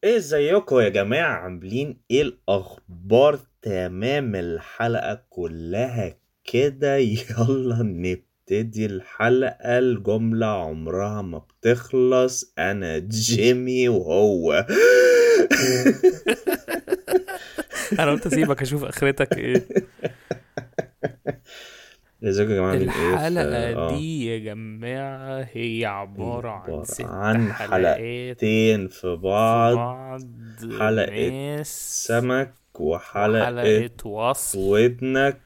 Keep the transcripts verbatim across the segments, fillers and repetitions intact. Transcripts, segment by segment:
ايه ازيكم يا جماعة؟ عاملين ايه الاخبار؟ تمام الحلقة كلها كده. يلا نبتدي الحلقة. الجملة عمرها ما بتخلص. انا جيمي وهو انا قلت اسيبك اشوف اخرتك ايه. ازيكم يا جماعة؟ عاملين ايه في الحلقة اه دي يا جماعة هي هي عبارة عن عبارة ست عن حلقات حلقتين في في بعض. بعض. حلقة ماس سمك وحلقة وحلقة وصل. ودنك.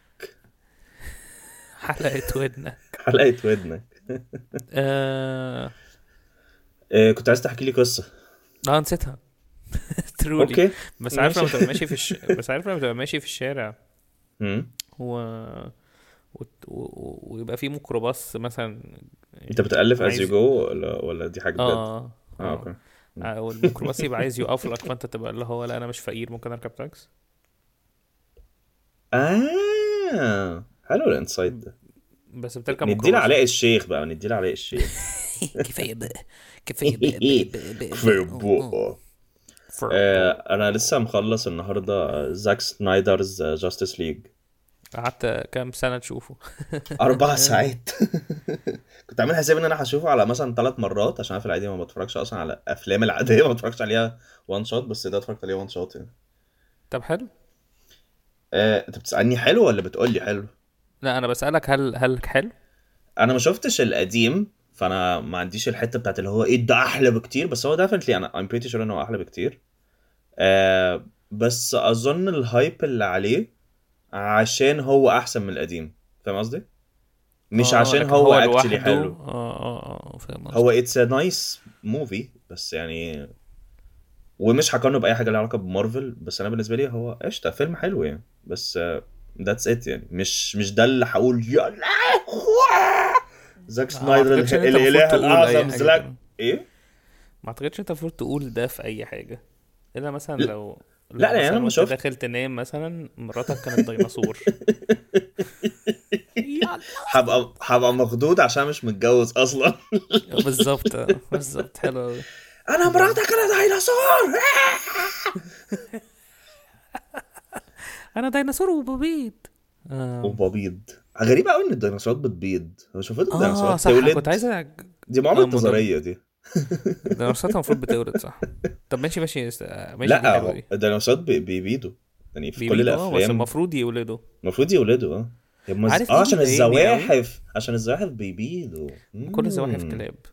حلقة ودنك. حلقة ودنك. آه... إيه، كنت عايز تحكي لي قصة. اه نسيتها. ترولي. اوكي بس عارف ماشي. لما تبقى ماشي في الش... بس عارف لما تبقى ماشي في الشارع مم. و... وت- و... و... ويبقى في ميكروباص مثلا، انت يعني بتألف as you عايز. go ولا ولا دي حاجة بجد؟ اه اه اه اوكي. مم. او الميكروباص يبقى عايز يقف لك، فانت تبقى اللي هو لا انا مش فقير، ممكن اركب تاكس. اه حلو الانسايت ده. بس بتركب نديله ميكروباص علاء بقى. الشيخ بقى، نديله علاء الشيخ. كفايه بقى. كفايه بقى بقى بقى بقى, في بقى. أوه، أوه. بقه. آه، فربو. انا لسه مخلص النهارده زاك سنايدرز جاستس ليج. قعدت كام سنه تشوفه؟ اربع ساعات. كنت عامل حساب ان انا هشوفه على مثلا ثلاث مرات، عشان انا في العادي ما بتفرجش اصلا على افلام العاديه، ما بتفرجش عليها وان شوت، بس ده اتفرجت عليه وان شوت يعني. طب حلو. آه، انت بتسألني حلو ولا بتقول لي حلو؟ لا انا بسالك هل هل حلو. انا ما شفتش القديم، فانا ما عنديش الحته بتاعت اللي هو ايه ده احلى بكتير، بس هو definitely انا I'm pretty sure انه هو احلى بكتير. آه، بس اظن الهايب اللي عليه عشان هو احسن من القديم. فاهم قصدي؟ مش اه عشان لكن هو هو actually لوحده حلو. اه اه اه فاهم هو قصدك. it's a nice movie بس يعني. ومش هقارنه باي حاجه لها علاقه بمارفل، بس انا بالنسبه لي هو قشطه فيلم حلو يعني. بس ذاتس ات يعني. مش مش ده اللي هقول يا لهوي زاك آه، ما سنايدر اعتقدش ان اله- انت المفروض الاله تقول اي الاعظم حاجه زلاك كده. ايه. ما اعتقدش انت المفروض تقول ده في اي حاجه، الا مثلا لا لو لا لو يعني انا مثلا لما وانت شفت داخل تنام مثلا مراتك كانت ديناصور. يلا. هبقى هبقى مخضوض عشان مش متجوز اصلا. بالظبط آه، بالظبط حلو قوي. انا حلو قوي. مراتك انا ديناصور. انا ديناصور وببيض. آم، وببيض. غريب قوي ان الديناصورات بتبيض. هو شوفت اه الديناصورات صح كنت تولد؟ عايز أ- دي معامله اه مدام. نظريه دي. الديناصورات المفروض بتولد صح. طب ماشي ماشي است- ماشي دي لا حلوه هو دي. الديناصورات بي- بيبيضوا يعني في كل بيبيضوا اه بس الافلام. المفروض يولدوا. المفروض يولدوا اه. هم ز... عارف اه ايه عشان بيضايقني قوي؟ الزواحف، عشان الزواحف بيبيضوا. كل الزواحف مم. كلاب.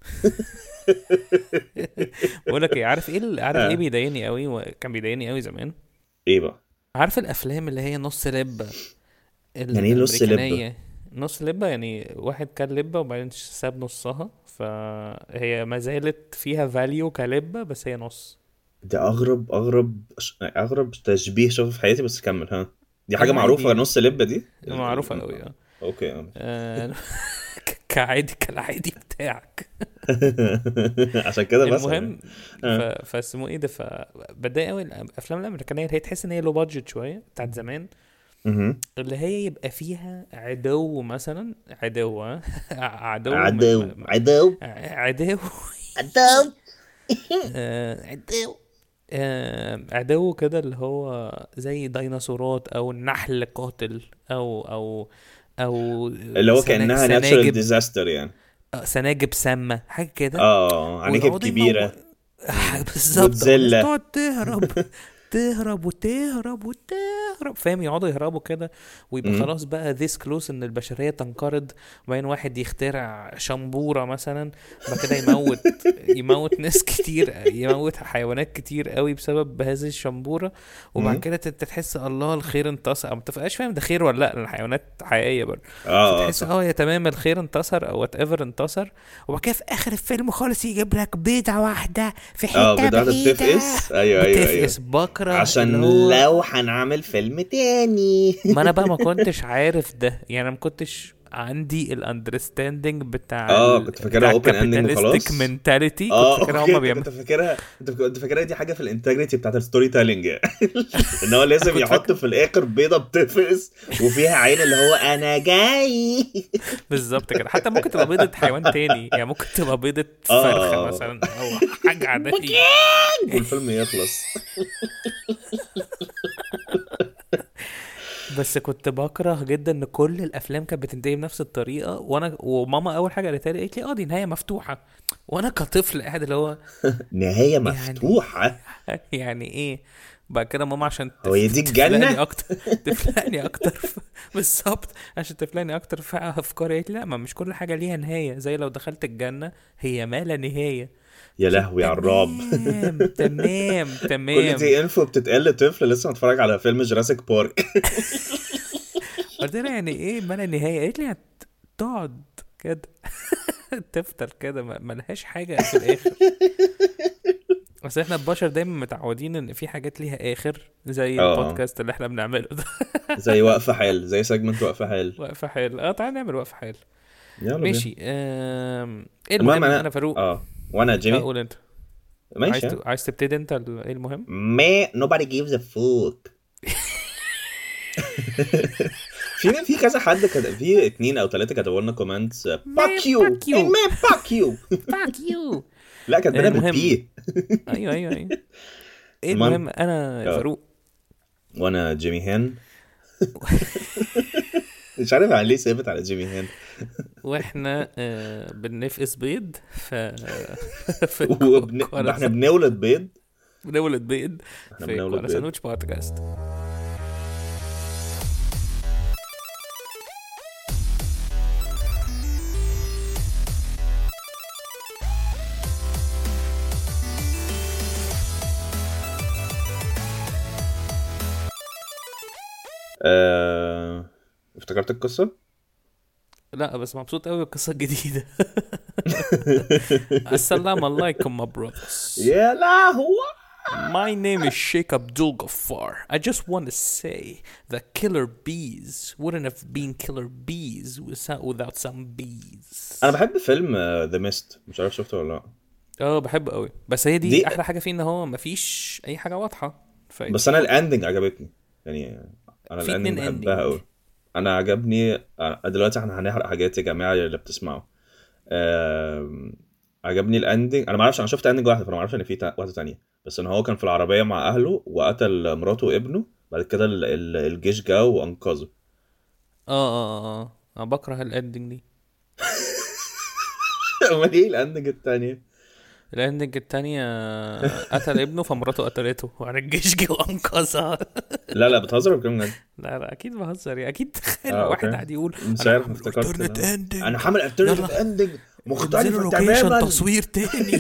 بقول لك ايه، عارف ايه ال- عارف ايه اه بيضايقني قوي وكان بيضايقني قوي زمان؟ ايه بقى؟ عارف الافلام اللي هي نص لبه يعني ايه نص لبة؟ الامريكانيه؟ نص لبه يعني واحد كان لبه وبعدين ساب نصها، فهي ما زالت فيها فاليو كلبه بس هي نص. دي اغرب اغرب اغرب تشبيه شوفه في حياتي، بس كمل ها. دي حاجة معروفة العادي نص لبة دي ال... معروفة ال... قوي اه. اوكي اه. آه، كعادي كالعادي بتاعك. عشان كده بسأل يعني. المهم ف... اه فاسمه ايه ده، فبتضايق قوي الافلام الامريكانيه اللي هي تحس ان هي لو بادجت شويه بتاعت زمان، مهم. اللي هي يبقى فيها عدو مثلا، عدو ها؟ عدو من عدو م- م- عدو عدو. عدو. آه، عدو. آه، عدو كده اللي هو زي ديناصورات او نحل قاتل او او او اللي هو سنا- كأنها natural سناجب. disaster يعني. آه، سناجب سامة حاجة كده. اه عناكب ويقعدوا يمو. كبيرة. مم. بالظبط اه الناس جودزيلا. تقعد تهرب. تهرب وتهرب وتهرب فاهم، يقعدوا يهربوا كده ويبقى مم. خلاص بقى this close ان البشرية تنقرض. وبعدين واحد يخترع شمبورة مثلا، بعد كده يموت يموت ناس كتير، يموت حيوانات كتير قوي بسبب هذه الشمبورة. وبعد مم. كده تت- تحس الله الخير انتصر، او ما تبقاش فاهم ده خير ولا لا لان الحيوانات حقيقية برضه. اه اه فتحس صح. اه يا تمام الخير انتصر او وات ايفر انتصر. وبعد كده في اخر الفيلم خالص يجيب لك بيضة واحدة في اه حتة بتاعتها بعيدة. بتفقس، ايوه ايوه بتفقس ايوه. بكره اللي عشان هو. لو هنعمل فيلم تاني. ما انا بقى ما كنتش عارف ده، يعني انا ما كنتش عندي الاندرستاندينج بتاع اه ال... كنت بتاع فاكرها اوبن اندنج الكابيتاليستيك وخلاص. منتاليتي، كنت اه فاكرها اوكي، هما انت بيعملوا. كنت فاكرها، انت كنت فاكرها دي حاجه في الانتجريتي بتاعت الستوري تيلينج ان هو لازم كنت يحط فاكر في الاخر بيضه بتفقس وفيها عين اللي هو انا جاي. بالظبط كده. حتى ممكن تبقى بيضة حيوان تاني، يعني ممكن تبقى بيضة فرخة اه مثلا او حاجة عادية. والفيلم يخلص. بس كنت بكره جدا ان كل الافلام كانت بتنتهي بنفس الطريقه، وانا وماما اول حاجه قالتها لي قالت لي اه دي نهايه مفتوحه، وانا كطفل قاعد اللي هو نهايه يعني مفتوحه؟ يعني ايه. بعد كده ماما عشان هو تف... هي دي تفلقني الجنه؟ اكتر تفلقني اكتر في... بالظبط، عشان تفلقني اكتر في افكاري قالت لي لا، ما مش كل حاجه ليها نهايه، زي لو دخلت الجنه هي ما لا نهايه. يا قلت لها لهوي على الرعب. تمام تمام كل تمام. دي انفو بتتقال لطفل لسه متفرج على فيلم جراسيك بارك. قلت لها يعني ايه ما لا نهايه؟ قالت لي هتقعد كده تفضل كده ما- ملهاش حاجة في الآخر. بس احنا البشر دايما متعودين ان في حاجات ليها آخر، زي اه البودكاست اللي احنا بنعمله ده. زي وقفه حال، زي سيجمنت وقفه حال. وقفة حال، اه تعالى نعمل وقفة حال. يلا بينا. ماشي. آم... ايه المهم المهم انا انا فاروق. اه وانا جيمي. هقول انت. عايز ماشي. ت... عايز تبتدي انت ال- ايه المهم. ما nobody gives a fuck. في في كذا حد كده، في اتنين او ثلاثه كتبوا لنا كومنتس man باك يو fuck اي you. مان باك يو. fuck you. لا كاتبينها المهم. بالبي. ايوه ايوه ايوه. ايه المهم المهم انا اه فاروق. وانا جيمي هان. مش عارف على ليه ثابت على جيمي هان. واحنا آه بنفقس بيض ف في وبن... احنا الكورة. بنولد بيض. بنولد بيض احنا في بنولد كوالا بيض. ساندوتش بودكاست. آه... افتكرت القصه. لا بس مبسوط قوي بالقصة الجديدة. السلام عليكم my brothers. يا لهوي. My name is Sheikh Abdul Ghaffar. I just want to say that killer bees wouldn't have been killer bees without without some bees. انا بحب فيلم ذا ميست، مش عارف شفته ولا لا. اه بحبه قوي، بس هي دي دي احلى حاجة فيه ان هو مفيش اي حاجة واضحة. بس انا الاندنج عجبتني يعني. انا في الاندنج اتنين بحبها اندنج. قوي. انا عجبني. أنا دلوقتي احنا هنحرق حاجات يا جماعه اللي بتسمعوا. آم، عجبني الاندنج. انا ما اعرفش، انا شفت اندنج واحده فانا ما اعرفش ان في تا- واحده تانية. بس ان هو كان في العربيه مع اهله وقتل مراته وابنه، بعد كده ال- ال- الجيش جه وانقذه. اه اه اه اه انا بكره الاندنج دي. امال ايه الاندنج التانية؟ الاندنج التانية قتل ابنه فمراته قتلته وعلى الجيش جه وانقذها. لا لا بتهزر ولا بتتكلم بجد؟ لا لا اكيد بهزر يعني. اكيد تخيل اه واحد اوكي. قاعد يقول مش انا عارف، هعمل افتكرت alternate إن هو- انا ending. هعمل الترنتيف يلا اندنج انزلوا مختلفه لوكيشن تماما. تصوير تاني.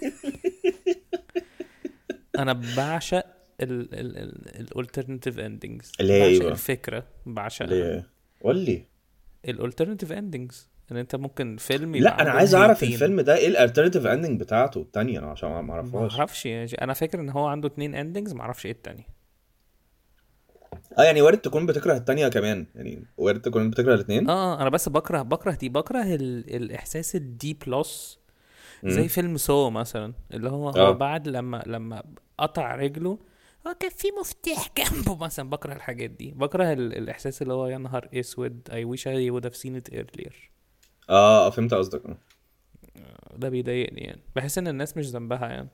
انا بعشق ال ال ال الالترناتيف اندنجز، اللي هي ايه بعشق بقى؟ الفكرة اللي بعشقها. هي قول لي. الالترناتيف اندنجز ان انت ممكن فيلم يبقى لا انا عنده عايز اعرف نهايتين. الفيلم ده ايه الالترناتيف اندنج بتاعته التانية، انا عشان ما ما اعرفهاش. اعرفش يعني، انا فاكر ان هو عنده اتنين اندنجز، ما اعرفش ايه التاني. اه يعني وارد تكون بتكره التانية كمان، يعني وارد تكون بتكره الاثنين. اه انا بس بكره بكره دي بكره ال... الاحساس الدي بلس. زي امم فيلم سو مثلا، اللي هو هو اه بعد لما لما قطع رجله هو كان في مفتاح جنبه مثلا. بكره الحاجات دي، بكره ال... الاحساس اللي هو يا نهار اسود I wish I would have seen it earlier. اه فهمت قصدك. اه ده بيضايقني يعني، بحس ان الناس مش ذنبها يعني.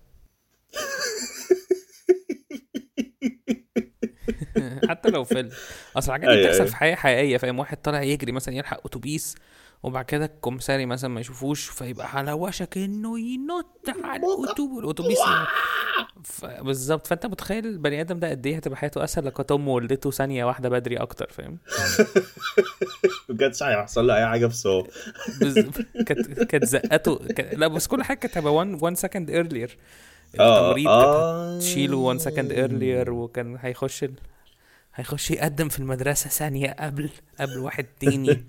حتى لو فيلم، اصل الحاجات دي ايوه بتحصل في ايوه. حياه حقيقيه. فاهم واحد طالع يجري مثلا يلحق اتوبيس، وبعد كده الكمساري مثلا ما يشوفوش فيبقى على وشك انه ينط على الأتوب- الاتوبيس ي- ف... بالظبط. فانت متخيل البني ادم ده قد ايه هتبقى حياته اسهل لو كانت امه ولدته ثانيه واحده بدري اكتر. فاهم بجد صحيح هيحصل له اي حاجه في سو. بز... كانت كانت زقته ك... لا بس كل حاجه كانت هتبقى one one second earlier. اه التمريض كانت هتشيله one second earlier، اه وكان هيخش ال... هيخش يقدم في المدرسة ثانية قبل قبل واحد تاني.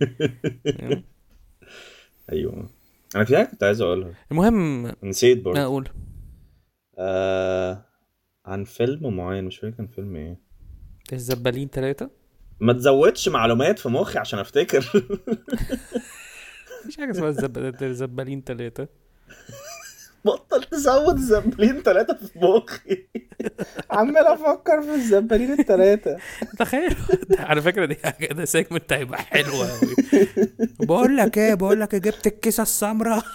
ايوه. انا في حاجه كنت عايز اقولها المهم نسيت برضه. اقول آه... عن فيلم معين مش فاكر كان فيلم ايه. الزبالين ثلاثة. ما تزودش معلومات في مخي عشان افتكر. مفيش حاجه اسمها الزب... الزبالين ثلاثه. بطل تزود الزبالين ثلاثة في مخي. عمال افكر في الزبالين الثلاثة. تخيل. على فكره دي حاجه، ده سيجمنت هيبقى حلو قوي. بقول لك ايه بقول لك جبت الكيسه السمراء.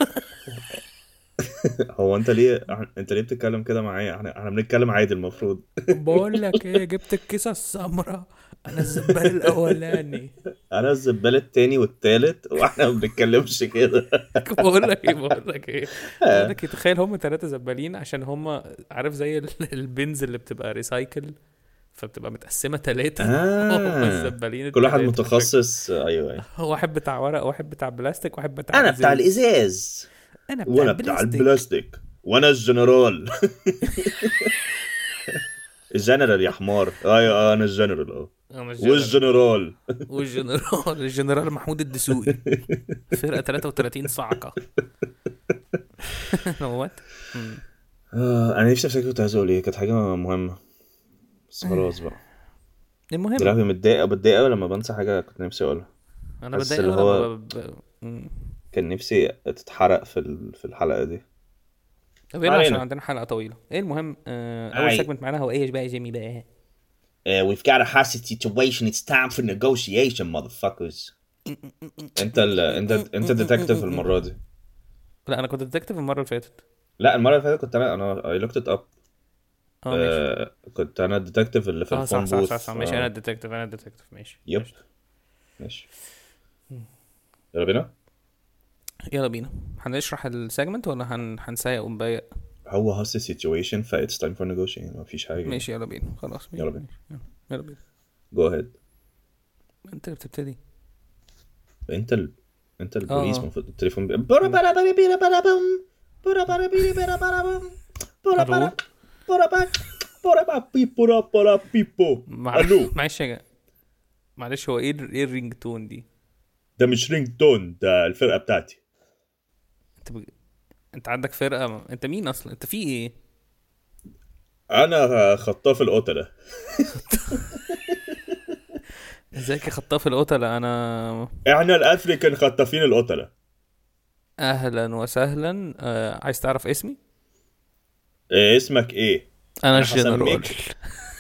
هو انت ليه انت ليه بتتكلم كده معايا؟ احنا احنا بنتكلم عادي المفروض. بقول لك ايه جبت الكيسه السمراء. انا الزبال الاولاني. انا الزبال التاني والتالت واحنا ما بنتكلمش كده. بقول لك ايه بقول لك ايه بقول لك إيه، تخيل هم ثلاثه زبالين عشان هم عارف زي ال- البنز اللي بتبقى ريسايكل، فبتبقى متقسمه ثلاثه. هم اه الزبالين كل واحد الثلاثه عشان متخصص. ايوه ايوه. واحد بتاع ورق، واحد بتاع بلاستيك، واحد بتاع انا بتاع ازاز. الازاز انا بتاع وانا بتاع البلاستيك. البلاستيك وانا الجنرال. الجنرال يا حمار. ايوه انا الجنرال اه. انا الجنرال. والجنرال. والجنرال الجنرال محمود الدسوقي. فرقه ثلاثة وثلاثين صعقه. نوات. آه انا نفسي افتكر كنت عايز اقول ايه، كانت حاجه مهمه بس خلاص بقى. المهم دلوقتي متضايق بتضايق قوي لما بنسى حاجه كنت نفسي اقولها. انا بس بتضايق اللي أوي هو لما ب... ب... مم. كان نفسي تتحرق في ال- في الحلقه دي. طب ما يلا عشان علينا. عندنا حلقه طويله. ايه المهم، آه اول أي. سيجمنت معانا هو ايه بقى يا جيمي بقى؟ Uh, we've got a hostage situation. It's time for negotiation, motherfuckers. انت ال... انت انت ديتكتيف المره دي. لا انا كنت ديتكتيف المره اللي فاتت. لا المره اللي فاتت كنت انا انا I looked it up. اه ماشي. آه كنت انا الديتكتيف اللي في اه صح الفون صح بوث. صح, صح. ماشي انا الديتكتيف انا الديتكتيف ماشي. يب قشطة. ماشي. يلا بينا. يلا بينا. هنشرح السيجمنت ولا هن... هنسايق ونبايق؟ هو hostage situation ف it's time for negotiation. ما فيش حاجه. ماشي يلا بينا خلاص. ماشي. يلا بينا. يلا. يلا بينا. go ahead. انت اللي بتبتدي. انت ال... انت البوليس آه. المفروض التليفون بي... برا برا برا برا برا بوم. برا برا برا برا برا بوم. برا برا ألو؟ برا برا برا برا بي برا برا بيبو. مع... الو. معلش يا جا- معلش هو ايه ال- ايه الرينج تون دي؟ ده مش رينج تون، ده الفرقه بتاعتي. انت بج... انت عندك فرقه، انت مين اصلا؟ انت في ايه؟ انا خطاف القتله. ازيك يا خطاف القتلة؟ انا احنا الافريكان خطافين القتله. اهلا وسهلا. آه... عايز تعرف اسمي؟ إيه اسمك ايه؟ انا أنا الجنرال. هسميك.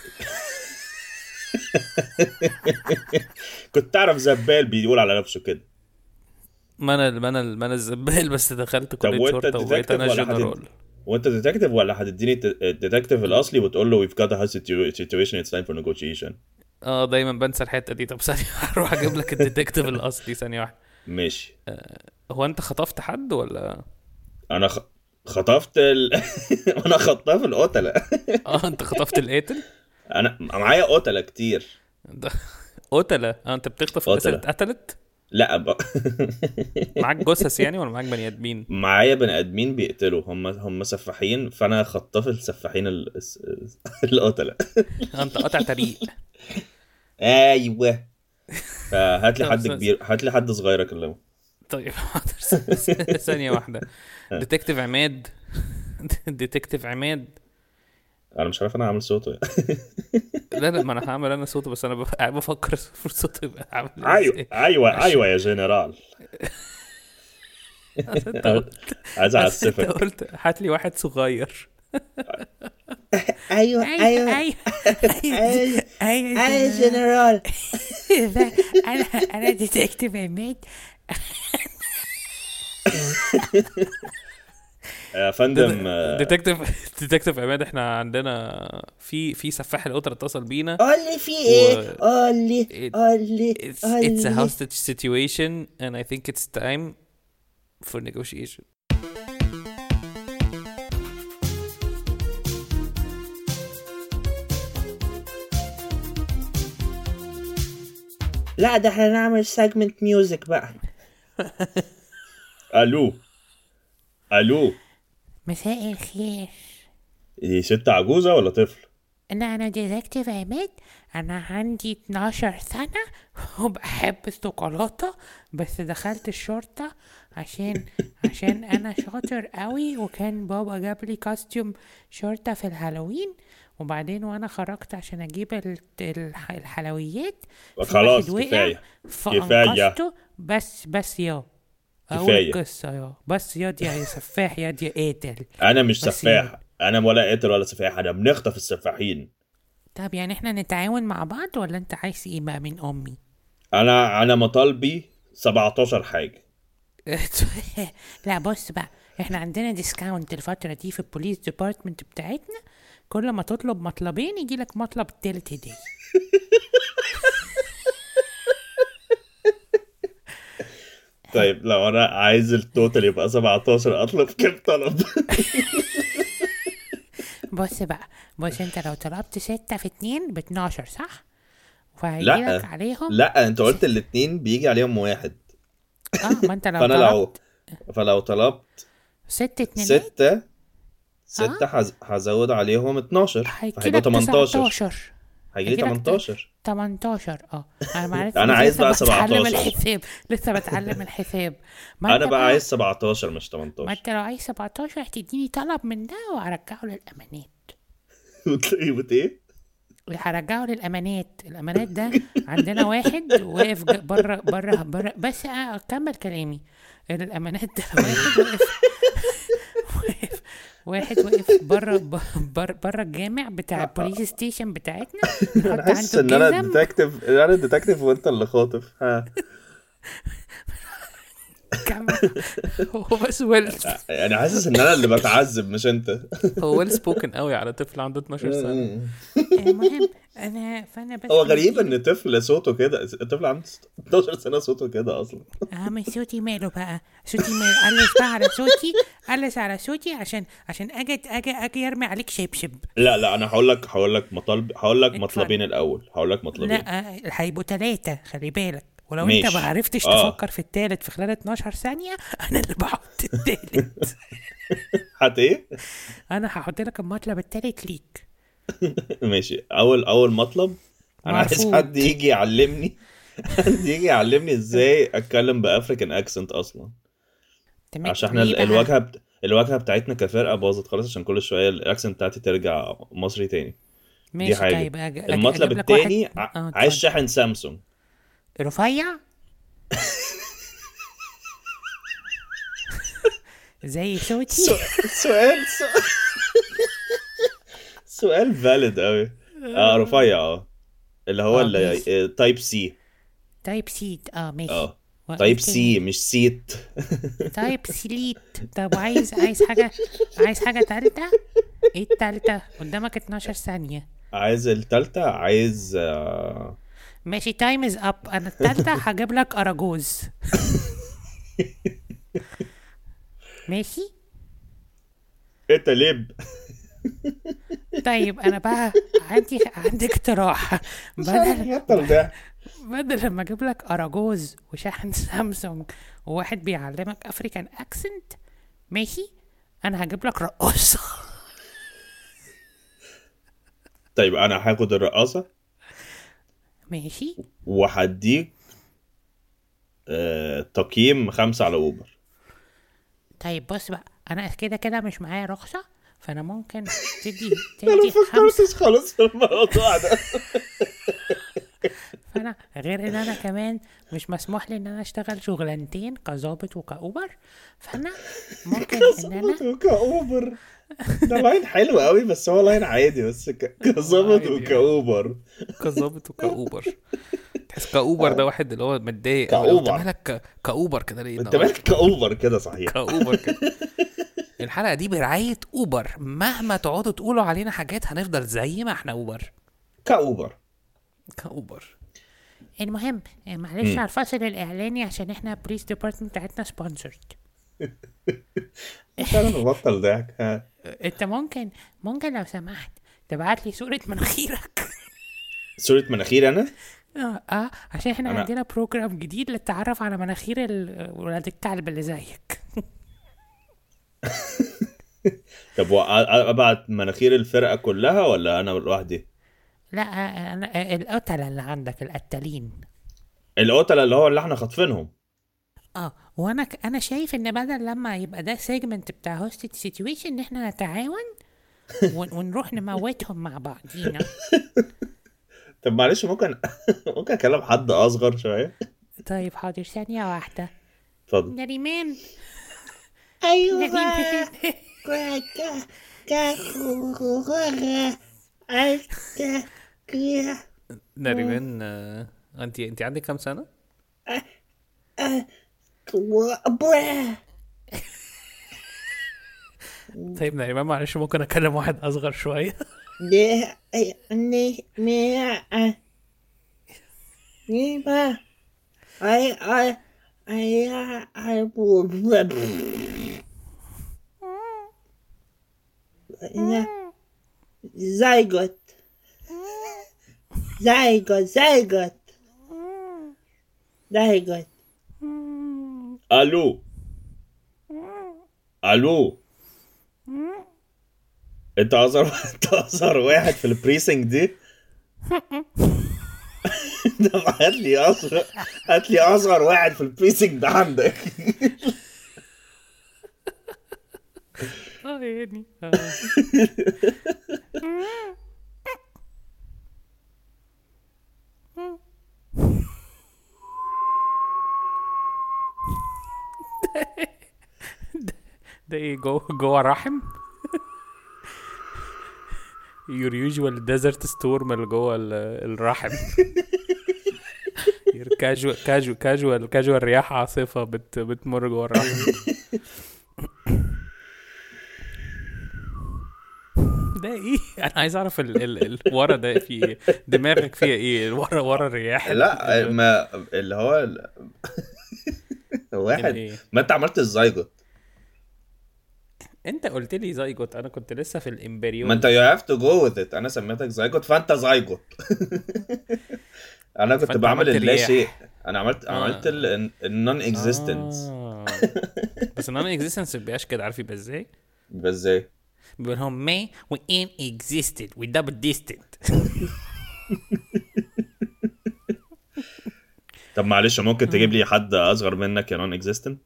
كنت تعرف زبال بيقول على نفسه كده. ما انا ما انا ما انا الزبال، بس دخلت طب كليه وانت شرطه وبقيت ديتكتيف انا ولا جنرال. هتد... وانت ديتكتيف ولا هتديني الديتكتيف الاصلي وتقول له we've got a hostage situation it's time for negotiation؟ اه دايما بنسى الحته دي. طب ثانيه هروح اجيب لك الديتكتيف الاصلي ثانيه واحده. ماشي. هو انت خطفت حد ولا؟ انا خ... خطفت ال... انا خطاف القتله. اه انت خطفت القاتل. انا معايا قتله كتير. ده قتله. اه انت بتخطف الناس اللي قتلة. اتقتلت. لا ب... معاك جثث يعني ولا معاك بني ادمين؟ معايا بني ادمين بيقتلوا. هم هم سفاحين فانا خطاف السفاحين ال... القتله. آه انت قاطع طريق. ايوه. فهات لي طب حد س- كبير، هات لي حد صغير اكلمه. طيب حاضر. ثانيه واحده. ديتكتيف عماد. ديتكتيف عماد. انا مش عارف انا عامل صوته. لا لا ما انا هعمل انا صوته، بس انا بف- قاعد بفكر في صوته يبقى عامل ايوه ازاي. ايوه عشان- ايوه يا جنرال. أصل انت قلت عايز أصل انت اعسفك. قلت هات لي واحد صغير. ايوه ايوه ايوه ايوه ايوه جنرال. انا انا ديتكتيف عماد. يا فندم. ديتكتيف ديتكتيف عماد، احنا عندنا في في سفاح القطر اتصل بينا. قول لي في ايه؟ و- قول لي It- قول لي It's قول it's a لي. hostage situation and I think it's time for negotiation. لا ده احنا نعمل سيجمنت ميوزك بقى. الو الو. مساء الخير. دي ست عجوزة ولا طفل؟ انا انا ديتكتيف عماد، انا عندي اتناشر سنة وبحب الشوكولاتة، بس دخلت الشرطة عشان عشان انا شاطر قوي، وكان بابا جاب لي كاستيوم شرطة في الهالوين، وبعدين وانا خرجت عشان اجيب ال- الح- الحلويات، في واحد خلاص وقع كفايه كفايه فانقذته. بس بس يا اقول كفايه. القصة يا بس يا دي يا سفاح يا دي قاتل. انا مش بس يا سفاح، انا ولا قاتل ولا سفاح، انا بنخطف السفاحين. طب يعني احنا نتعاون مع بعض، ولا انت عايز ايه بقى من امي؟ انا انا مطالبي سبعتاشر حاجه. لا بص بقى، احنا عندنا ديسكاونت الفترة دي في البوليس ديبارتمنت بتاعتنا، كل ما تطلب مطلبين يجيلك مطلب تالت هدية. طيب لو انا عايز التوتال يبقى سبعتاشر، اطلب كام طلب؟ بص بقى، بص انت لو طلبت ستة في اتنين باتناشر صح؟ فهيجيلك لا عليهم لا، انت س... قلت الاتنين بيجي عليهم واحد. اه ما انت لو فانا لو طلبت فلو طلبت ست اتنينات ستة اه ستة هز... هزود عليهم اتناشر فهيبقى هيجيلك تمنتاشر. تسعتاشر. هيجي لي هيجيلك ت... تمنتاشر. تمنتاشر اه انا معرفت انا لسه عايز لسه بقى بتعلم سبعتاشر. الحساب، لسه بتعلم الحساب. ما انا انت بقى بقى، عايز سبعتاشر مش ما تمنتاشر. انت لو عايز سبعتاشر هتديني طلب من ده وهرجعه للامانات. وتلاقيه بت ايه؟ هرجعه للامانات. الامانات ده عندنا واحد واقف ج- بره بره بره، بس اكمل كلامي. الامانات ده واحد واقف واقف واحد واقف بره بره بره الجامع بتاع البوليس ستيشن بتاعتنا، انا بنحط حاسس عنده ان انا الجزم. ديتكتيف، انا ديتكتيف وانت اللي خاطف. ها. كمل. هو بس ويل، يعني حاسس ان انا اللي بتعذب مش انت. هو ويل سبوكن قوي على طفل عنده اتناشر سنة. المهم انا فانا بس هو غريب مديله. ان طفل صوته كده، الطفل عنده اتناشر سنة صوته كده اصلا. اه مش صوتي ماله بقى، صوتي ماله، قلس بقى على صوتي، قلس على صوتي عشان عشان اجي اجي اجي ارمي عليك شبشب. لا لا، انا هقول لك هقول لك مطالب هقول لك اتفضل. مطلبين الاول، هقول لك مطلبين. لا آه، هيبقوا تلاتة خلي بالك، ولو انت ما ماشي. عرفتش اه. تفكر في التالت في خلال اتناشر ثانية انا اللي بحط التالت. حت ايه؟ انا هحط لك المطلب التالت ليك. ماشي. اول اول مطلب، انا عايز مرفوض. حد يجي يعلمني حد يجي يعلمني ازاي اتكلم بافريكان اكسنت اصلا. تمام عشان احنا ليه ال- بقى؟ الواجهه بت... الواجهه بتاعتنا كفرقه باظت خالص، عشان كل شويه الاكسنت بتاعتي ترجع مصري تاني. دي ماشي حاجه. طيب أج... أج... المطلب اجيب لك واحد. التاني، ع... اه عايز اتفضل. شاحن سامسونج. رفيع زي صوتي. سو... سؤال سو... سؤال فاليد قوي. اه رفيع اه، اللي هو اه ماشي. تايب سي. تايب سيت اه ماشي. اه وايه تايب تاني؟ سي مش سيت. تايب سليت. طب عايز عايز حاجة، عايز حاجة تالتة؟ ايه التالتة؟ قدامك اتناشر ثانية. عايز التالتة، عايز آه... ماشي تايم از اب. انا التالتة هجيب لك اراجوز. ماشي. انت ليب. طيب انا بقى عندي عندي اقتراح. مش عارف بدل ابطل ده. بدل لما اجيب لك اراجوز وشاحن سامسونج وواحد بيعلمك افريكان اكسنت، ماشي، انا هجيب لك رقاصة. طيب انا هاخد الرقاصة ماشي. وهديك آه... تقييم خمسة على اوبر. طيب بص بقى، انا كده كده مش معايا رخصة، فانا ممكن تدي انا ما تدي خمسة. فكرتش خالص في الموضوع ده. فانا غير ان انا كمان مش مسموح لي ان انا اشتغل شغلانتين كظابط وكاوبر، فانا ممكن ان انا كظابط وكاوبر، ده لاين حلو قوي بس هو لاين عادي، بس ك... كظابط عادي يعني. وكاوبر. كظابط وكاوبر. تحس كاوبر ده واحد اللي هو متضايق قوي، لو انت كاوبر، مالك ك- كاوبر كده ليه انت النهارده؟ مالك كاوبر كده صحيح. كاوبر كده. الحلقه دي برعايه اوبر، مهما تقعدوا تقولوا علينا حاجات هنفضل زي ما احنا اوبر. كاوبر. كاوبر. المهم معلش مم. على الفاصل الاعلاني عشان احنا بوليس ديبارتمنت بتاعتنا سبونسرد. مش انا ببطل ضحك. ها. انت ممكن ممكن لو سمحت تبعت لي صورة مناخيرك. صورة مناخير انا؟ اه اه عشان احنا انا عندنا بروجرام جديد للتعرف على مناخير ال- ولاد الكلب اللي زيك. طب وأ- ابعت مناخير الفرقة كلها ولا انا لوحدي؟ لا انا القتلة اللي عندك القتالين. القتلة اللي هو اللي احنا خاطفينهم. اه وانا ك... انا شايف ان بدل لما يبقى ده سيجمنت بتاع هوستد سيتويشن ان احنا نتعاون ون... ونروح نموتهم مع بعضينا. طب معلش ممكن ممكن اكلم حد اصغر شوية؟ طيب حاضر ثانية واحدة. اتفضل. نريمان. ايوه نريمان. كا كا كا كا كا نريمان آه، انت انت عندك كام سنة؟ طيب نريمان معلش ممكن اكلم واحد اصغر شوية؟ I I I I zygote zygote zygote zygote الو الو، انت اصغر انت اصغر واحد في البريسنج دي. ده هات لي اصغر هات لي اصغر واحد في البريسنج ده عندك. اه يعني ده ايه جوه جوه رحم؟ your usual desert storm اللي جوه ال- الرحم. your casual casual casual casual رياح عاصفة بت بتمر جوه الرحم. ده ايه؟ انا عايز اعرف ال ال ال ورا ده في ايه؟ دماغك فيها ايه ورا ورا الرياح ال- لا ال- ما اللي هو ال- واحد. الايه؟ ما انت عملت الزيجوت. انت قلت لي زيجوت، انا كنت لسه في ما انت الامبريون. you have to go with it. انا سميتك زيجوت فانت زيجوت. انا كنت فانت بعمل عملت اللا شيء. رياح. انا عملت عملت اه النون اكزيستنس. اه بس النون اكزيستنس مبيبقاش كده، عارف يبقى ازاي؟ بس ازاي؟ بيقول لهم ما we ain't existed we double distant. طب معلش ممكن تجيب لي حد اصغر منك يا نون اكزيستنت؟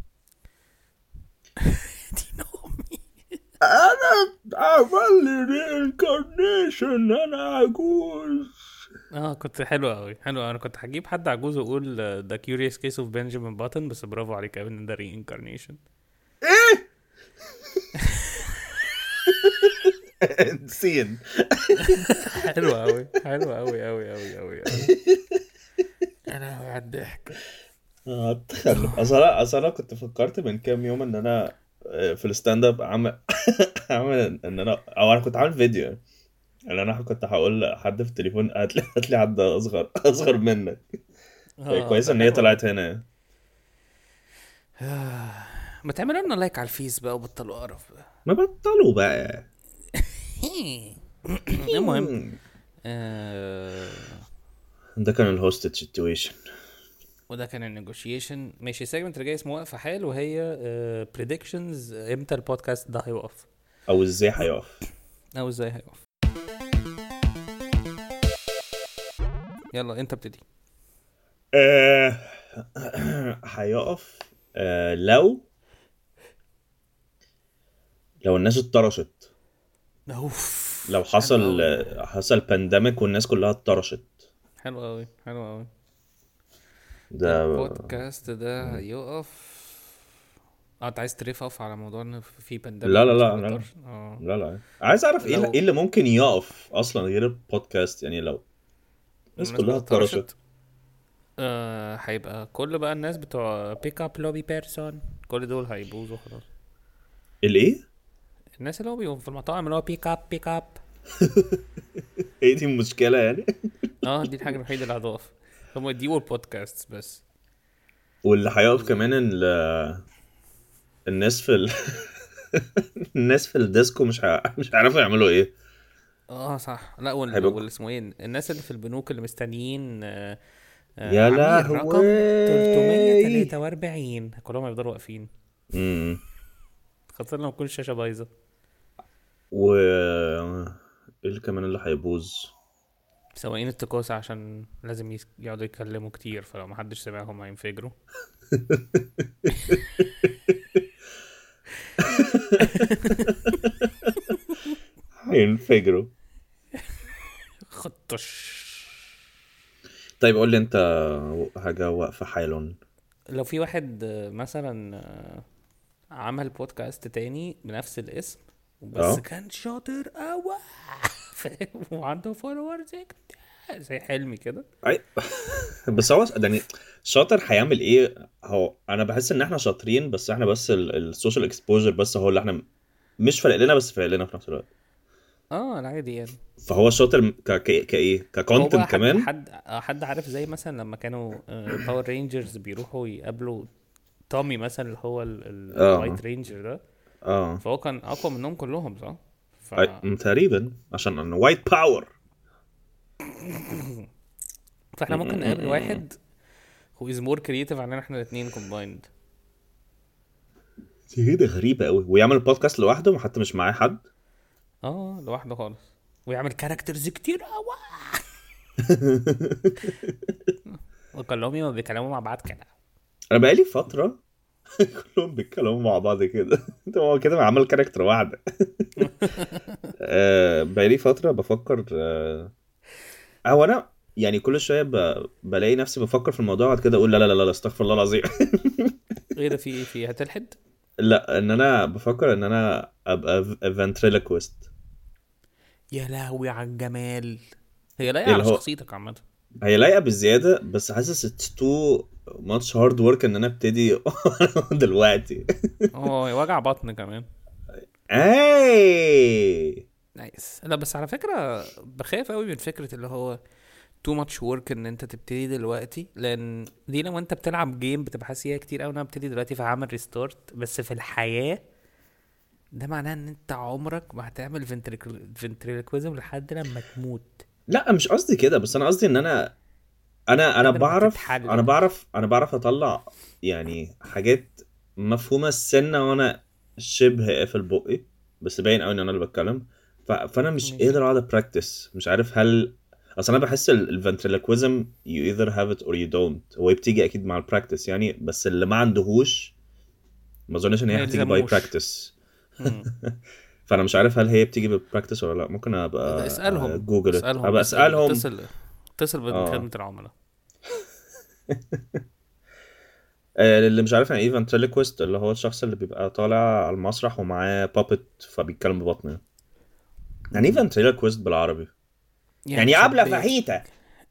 دي نومي. انا عمل لي رينكارنيشن، انا عجوز. اه كنت حلو قوي حلو أوي. انا كنت هجيب حد عجوز واقول ذا كيوريوس كيس اوف بنجامين باتن، بس برافو عليك يا ابني ده ري انكارنيشن. ايه؟ نسين. حلو قوي حلو قوي قوي قوي قوي قوي. انا على الضحك. هتخلف. اصل انا اصل انا كنت فكرت من كام يوم ان انا آه، في الستاند اب عامل عامل ان انا او انا كنت عامل فيديو ان انا كنت هقول لحد في التليفون هات لي هات لي حد اصغر اصغر منك. اه كويس ده ان هي حلو قوي. طلعت هنا. ما تعملوا لنا لايك على الفيس بقى وبطلوا قرف بقى. ما بطلوا بقى. المهم آه ده كان الهوستد سيتويشن. وده كان النيجوشيشن. ماشي السيجمنت اللي جاي اسمه واقفه حال، وهي بريدكشنز امتى البودكاست ده هيوقف او ازاي هيقف. او ازاي هيقف. يلا انت ابتدي. آه، هيقف آه، لو لو الناس اتطرشت. اوف لو حصل حصل بانديميك والناس كلها اتطرشت. حلو قوي حلو قوي. ده البودكاست ده هيقف. اه انت عايز تريف اوف على موضوع ان في بانديميك لا لا والناس لا ما لا بتقدرش. اه لا لا عايز اعرف ايه لو ايه اللي ممكن يقف اصلا غير البودكاست. يعني لو الناس الناس كلها كلها اتطرشت. اتطرشت آه هيبقى كل بقى الناس بتوع بيك اب لوبي بيرسون كل دول هيبوظوا خلاص. الايه؟ الناس اللي هو بيبقوا في المطاعم اللي هو بيك اب بيك اب. ايه دي المشكله يعني؟ اه دي الحاجه الوحيده اللي هتقف. هم دي والبودكاست بس. واللي هيقف كمان ال- الناس في ال... الناس في الديسكو مش ه... مش هيعرفوا يعملوا ايه. اه صح. لا وال هيبقوا وال اسمه ايه الناس اللي في البنوك اللي مستنيين آه آه يا عميل رقم لهوي. ثلاثمية وتلاتة واربعين كلهم هيفضلوا واقفين. امم خاصة لما تكون الشاشة بايظة. و ايه اللي كمان اللي هيبوظ؟ سواقين التكاسة عشان لازم يس- يقعدوا يتكلموا كتير، فلو محدش سمعهم هينفجروا. هينفجروا. خطش. طيب قول لي انت حاجة واقفة حالا. لو في واحد آه، مثلا آه، عمل بودكاست تاني بنفس الاسم بس اه كان شاطر قوي فاهم، وعنده فولورز زي حلمي كده. اي بس هو يعني شاطر هيعمل ايه؟ هو انا بحس ان احنا شاطرين، بس احنا بس السوشيال اكسبوجر بس هو اللي احنا مش فارق لنا، بس فارق لنا في نفس الوقت. اه العادي يعني. فهو شاطر ك ك كايه هو بقى ككونتنت حد كمان. حد آه، حد عارف زي مثلا لما كانوا باور رينجرز بيروحوا يقابلوا تومي مثلا اللي هو اه الوايت رينجر ده، اه فهو كان اقوى منهم كلهم صح. ف أي- م- تقريبا عشان انا وايت باور. فاحنا ممكن نقابل واحد who is more creative عننا احنا الاثنين combined. دي كده غريبة قوي، ويعمل بودكاست لوحده حتى مش معاه حد. اه لوحده خالص، ويعمل كاركترز كتير قوي وكلهم ما بيتكلموا مع بعض كده. انا بقالي فترة كلهم بيتكلموا مع بعض كده. هو كده عمل كاركتر واحدة. آه، بقالي فترة بفكر. آه، هو انا يعني كل شويه ب... بلاقي نفسي بفكر في الموضوع، بعد كده اقول لا لا لا لا استغفر الله العظيم. ايه ده؟ في ايه؟ في هتلحد؟ لا، ان انا بفكر ان انا ابقى فنتريلوكويست. يا لهوي على الجمال. هي لايقه اللي على هو شخصيتك عامه. هي لايقه بالزياده، بس حاسس اتس تو ماتش هارد ورك ان انا ابتدي دلوقتي. اه وجع بطن كمان. اي نايس. لا بس على فكره بخاف قوي من فكره اللي هو too much work ان انت تبتدي دلوقتي، لان دي لما انت بتلعب جيم بتبقى حاسس فيها كتير قوي ان انا ابتدي دلوقتي فهعمل ريستارت، بس في الحياه ده معناه ان انت عمرك ما هتعمل فنتريلكويزم لحد لما تموت. لا مش قصدي كده، بس انا قصدي ان انا انا انا لحد لما بعرف انا تتحلل. بعرف انا بعرف اطلع يعني حاجات مفهومه السنه وانا شبه قافل بقي، بس باين قوي ان انا اللي بتكلم. ف... فانا مش ماشي. قادر اقعد براكتس، مش عارف هل اصل انا بحس الفنتريلكويزم you either have it or you don't. هو بتيجي اكيد مع البراكتس يعني، بس اللي ما عندهوش ما اظنش ان هي ما هتيجي باي يلزموش. براكتس. مم. فانا مش عارف هل هي بتيجي بالبراكتس ولا لا. ممكن ده ابقى اسألهم جوجل اسألهم ابقى اسأل اسالهم. اتصل اتصل اه بخدمة العملاء. آه، اللي مش عارف يعني ايه ventriloquist، اللي هو الشخص اللي بيبقى طالع على المسرح ومعاه بابت فبيتكلم ببطنه. يعني ايه مم. ventriloquist بالعربي؟ يعني يعني عبلة شباك. فحيتة.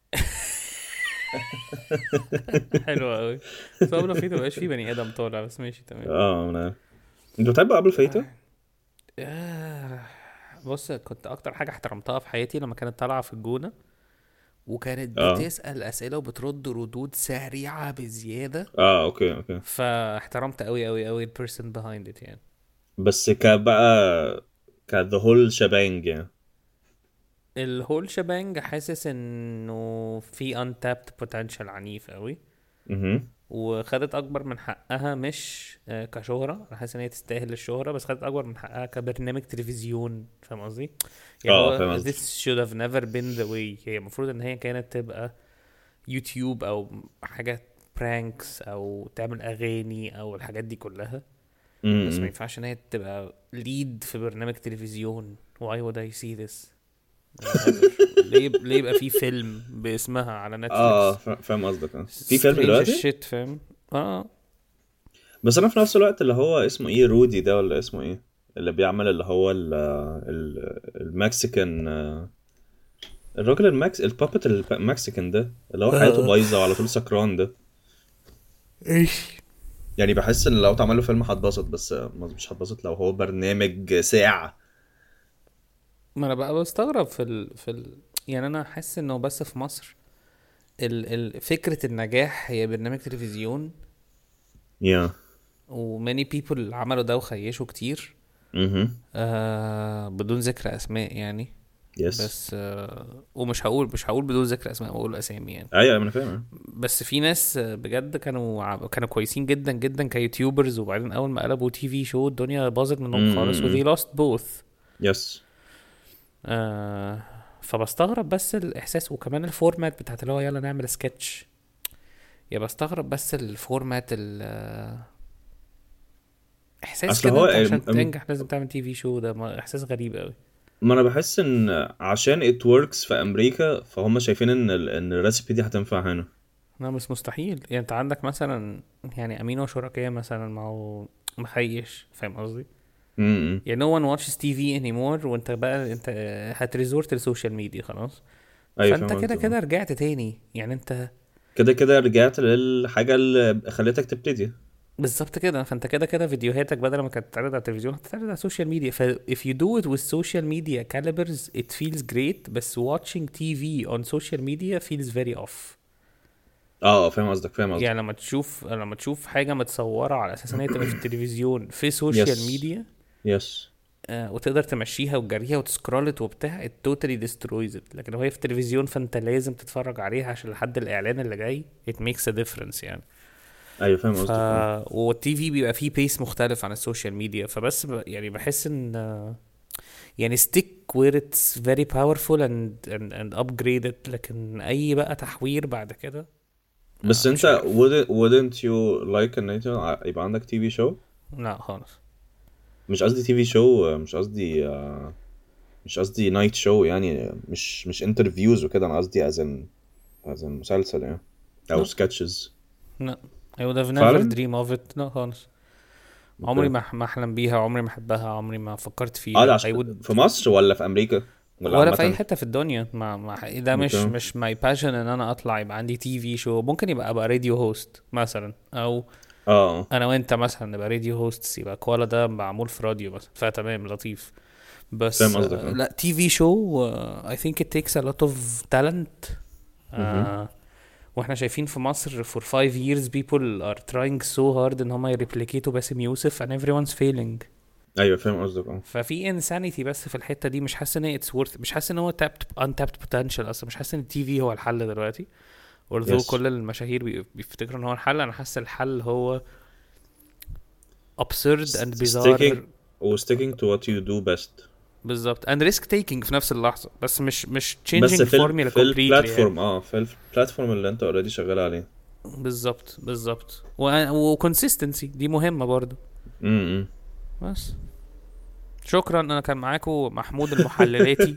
حلو قوي. صعب لو في مبقاش في بني ادم طالع، بس ماشي تمام. اه انا انت بتحب قبل فايته؟ آه. بص كنت اكتر حاجة احترمتها في حياتي لما كانت طالعة في الجونة، وكانت اه بتسأل اسئلة وبترد ردود سريعة بزيادة، اه اوكي اوكي. فاحترمت قوي قوي قوي ال person behind it يعني. بس كبقى ك the whole shebang يعني. الهول شبانج حاسس انه في untapped potential عنيف قوي، اها وخدت اكبر من حقها مش آه، كشهرة. انا حاسس ان هي تستاهل الشهرة، بس خدت اكبر من حقها كبرنامج تلفزيون. فاهم قصدي؟ يعني اه هو فاهم قصدك. this should have never been the way. هي المفروض ان هي كانت تبقى يوتيوب او حاجات برانكس او تعمل اغاني او الحاجات دي كلها، بس ما امم ينفعش ان هي تبقى ليد في برنامج تلفزيون. why would I see this ever؟ ليه ليه يبقى في فيلم باسمها على اه نتفليكس؟ فا- فاهم قصدك. اه في فيلم strange as دلوقتي. shit فاهم. اه بس انا في نفس الوقت اللي هو اسمه ايه، رودي ده ولا اسمه ايه، اللي بيعمل اللي هو ال ال المكسيكان، الراجل المكس البابت المكسيكان ده اللي هو حياته اه بايظه وعلى طول سكران ده. ايش. يعني بحس ان لو اتعمل له فيلم هتبسط، بس مش هتبسط لو هو برنامج ساعه. ما انا بقى بستغرب في ال... في ال... يعني انا حاسس انه بس في مصر ال... ال... فكرة النجاح هي برنامج تلفزيون، يا و many people عملوا ده وخيشوا كتير. اها آه بدون ذكر اسماء يعني. يس. بس آه ومش هقول مش هقول بدون ذكر اسماء، بقول اسامي يعني. ايوه انا فاهم. بس في ناس آه، بجد كانوا ع- كانوا كويسين جدا جدا كيوتيوبرز، وبعدين اول ما قلبوا تي في شو الدنيا باظت منهم خالص، و they lost both. يس. آه فبستغرب بس الاحساس، وكمان الفورمات بتاعت اللي هو يلا نعمل سكتش. يا بستغرب بس الفورمات ال آه، احساس اصل كده هو انت عشان ام- ام- تنجح لازم تعمل تي في شو، ده ما- احساس غريب قوي. ما انا بحس ان عشان it works في امريكا فهم شايفين ان ال- ان الريسبي دي هتنفع هنا. لا مش مستحيل يعني. انت عندك مثلا يعني امين وشركائه مثلا، ما هو مخيش، فاهم قصدي؟ امم يعني no one watches تي في anymore، وانت بقى انت هتريزورت للسوشيال ميديا خلاص. ايوه فانت فاهم كده قصدي. كده رجعت تاني يعني انت. كده كده رجعت للحاجه اللي خلتك تبتدي. بالظبط كده. فانت كده كده فيديوهاتك بدل ما كانت تتعرض على التلفزيون هتتعرض على السوشيال ميديا. ف if you do it with social media calibers it feels great، بس watching تي في on social media feels very off. اه فاهم قصدك فاهم قصدك. يعني لما تشوف لما تشوف حاجة متصورة على اساس ان هي تبقى في التلفزيون في سوشيال يس ميديا، يس. آه وتقدر تمشيها وتجريها وتسكرولت وبتاع it totally destroys it. لكن لو هي في التلفزيون فانت لازم تتفرج عليها عشان لحد الاعلان اللي جاي it makes a difference يعني. ايوه فاهم ف قصدك. آه. والتي في بيبقى فيه بيس مختلف عن السوشيال ميديا. فبس ب... يعني بحس ان آه، يعني stick where it's very powerful and and, and upgraded. لكن اي بقى تحوير بعد كده بس آه مش انت عارف. wouldn't, wouldn't you like ان انت يبقى عندك تي في شو؟ لا خالص. مش قصدي تي في شو، مش قصدي آه، مش قصدي نايت شو يعني، مش مش انترفيوز وكده، انا قصدي as in as in مسلسل يعني او لا سكتشز. لا I would have never فعلا. dream of it. لا خالص. عمري اوكي. ما ما احلم بيها، عمري ما احبها، عمري ما فكرت اه ده فيها. I عشان would في مصر ولا في امريكا ولا ولا في اي عامه؟ حته في الدنيا. ما, ما ده مش اوكي. مش ماي باشن ان انا اطلع يبقى عندي تي في شو. ممكن يبقى ابقى راديو هوست مثلا، او اه انا وانت مثلا نبقى راديو هوست، يبقى كوالا ده معمول في راديو مثلا، فتمام لطيف. بس فاهم قصدك. آه، اه لا تي في شو I think it takes a lot of talent. مهم. آه واحنا شايفين في مصر for five years people are trying so hard ان هم يريبليكيتوا باسم يوسف and everyone's failing. ايوه فاهم قصدك. اه ففي insanity بس في الحته دي. مش حاسس ان هي it's worth، مش حاسس ان هو tapped untapped potential اصلا. مش حاسس ان التي في هو الحل دلوقتي. although يس. كل المشاهير بي- بيفتكروا ان هو الحل. انا حاسس الحل هو absurd and sticking bizarre. و sticking to what you do best. بالظبط and risk taking في نفس اللحظه. بس مش مش بس changing في ال formula في completely يعني. البلاتفورم اه في البلاتفورم اللي انت اوريدي شغال عليه. بالظبط بالظبط. و consistency دي مهمه برضو. امم بس شكرا. انا كان معاكم محمود المحللاتي.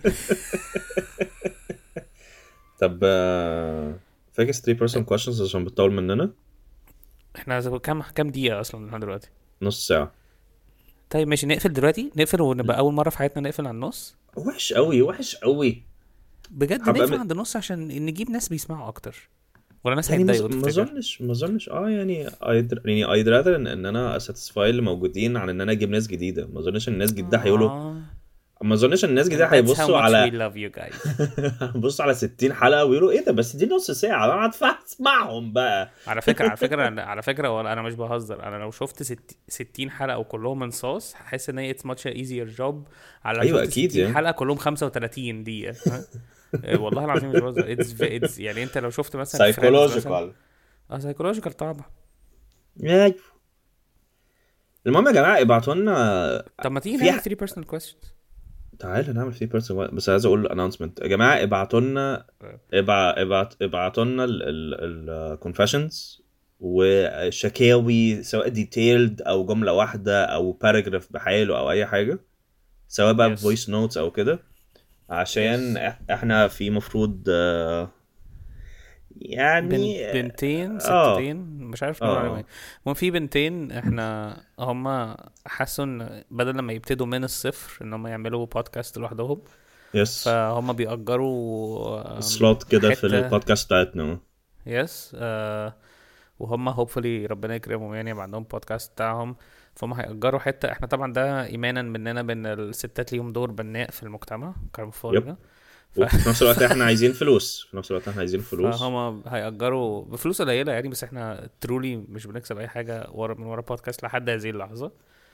طب آه، فاكس three person questions عشان بتطول مننا. احنا زي- كام كام دقيقه اصلا لحد دلوقتي؟ نص ساعة. طيب ماشي نقفل دلوقتي. نقفل ونبقى اول مره في حياتنا نقفل على النص. وحش قوي وحش قوي. بجد هبقى نقفل م... عند النص عشان نجيب ناس بيسمعوا اكتر، ولا ناس يعني مز... هيتضايقوا ما تفتكر؟ اظنش ما اظنش اه يعني I'd... يعني I'd rather ان, ان انا satisfy اللي موجودين عن ان انا اجيب ناس جديدة. ما اظنش ان الناس جديدة هيقولوا، آه. ما اظنش ان الناس and جديدة that's how هيبصوا much we على love you guys. بصوا على ستين حلقة ويقولوا ايه ده بس دي نص ساعة انا هدفع اسمعهم بقى. على فكره على فكره أنا- على فكره ولا انا مش بهزر. انا لو شفت ست... ستين حلقه وكلهم انصاص هحس ان هي it's much easier job على لو ايوه شفت اكيد ستين يعني. حلقه كلهم خمسة وتلاتين دقيقه. ها؟ إيه والله العظيم مش بهزر. it's, it's يعني انت لو شفت مثلا Friends مثلا. psychological. اه سايكولوجيكال طبعا. ايوه. المهم يا جماعة ابعتوا لنا طب ما تيجي في نعمل ح... three personal questions. تعالى نعمل في بيرسون. بس عايز اقول announcement يا جماعه. ابعتوا لنا ابع... ابعت ابعتوا لنا ال confessions وشكاوي سواء ديتيلد او جمله واحده او باراجراف بحاله او اي حاجه، سواء بقى Yes. فويس نوتس او كده، عشان Yes. إح- احنا في مفروض آه، بن... يعني بنتين اه ستتين مش عارف نقول عليهم ايه. اه المهم في بنتين احنا هما حسوا ان بدل لما يبتدوا من الصفر ان هما يعملوا بودكاست لوحدهم، يس فهم بيأجروا آم، سلوت كده في حتة. البودكاست بتاعتنا. يس آه وهم hopefully ربنا يكرمهم يعني يبقى عندهم بودكاست بتاعهم. فهم هيأجروا حتة. احنا طبعا ده ايمانا مننا بان الستات ليهم دور بناء في المجتمع كالمفارقة. ف... وفي نفس الوقت احنا عايزين فلوس في نفس الوقت احنا عايزين فلوس. فهم هيأجروا بفلوس قليلة يعني. بس احنا ترولي مش بنكسب اي حاجة ورا من ورا بودكاست لحد هذه اللحظة.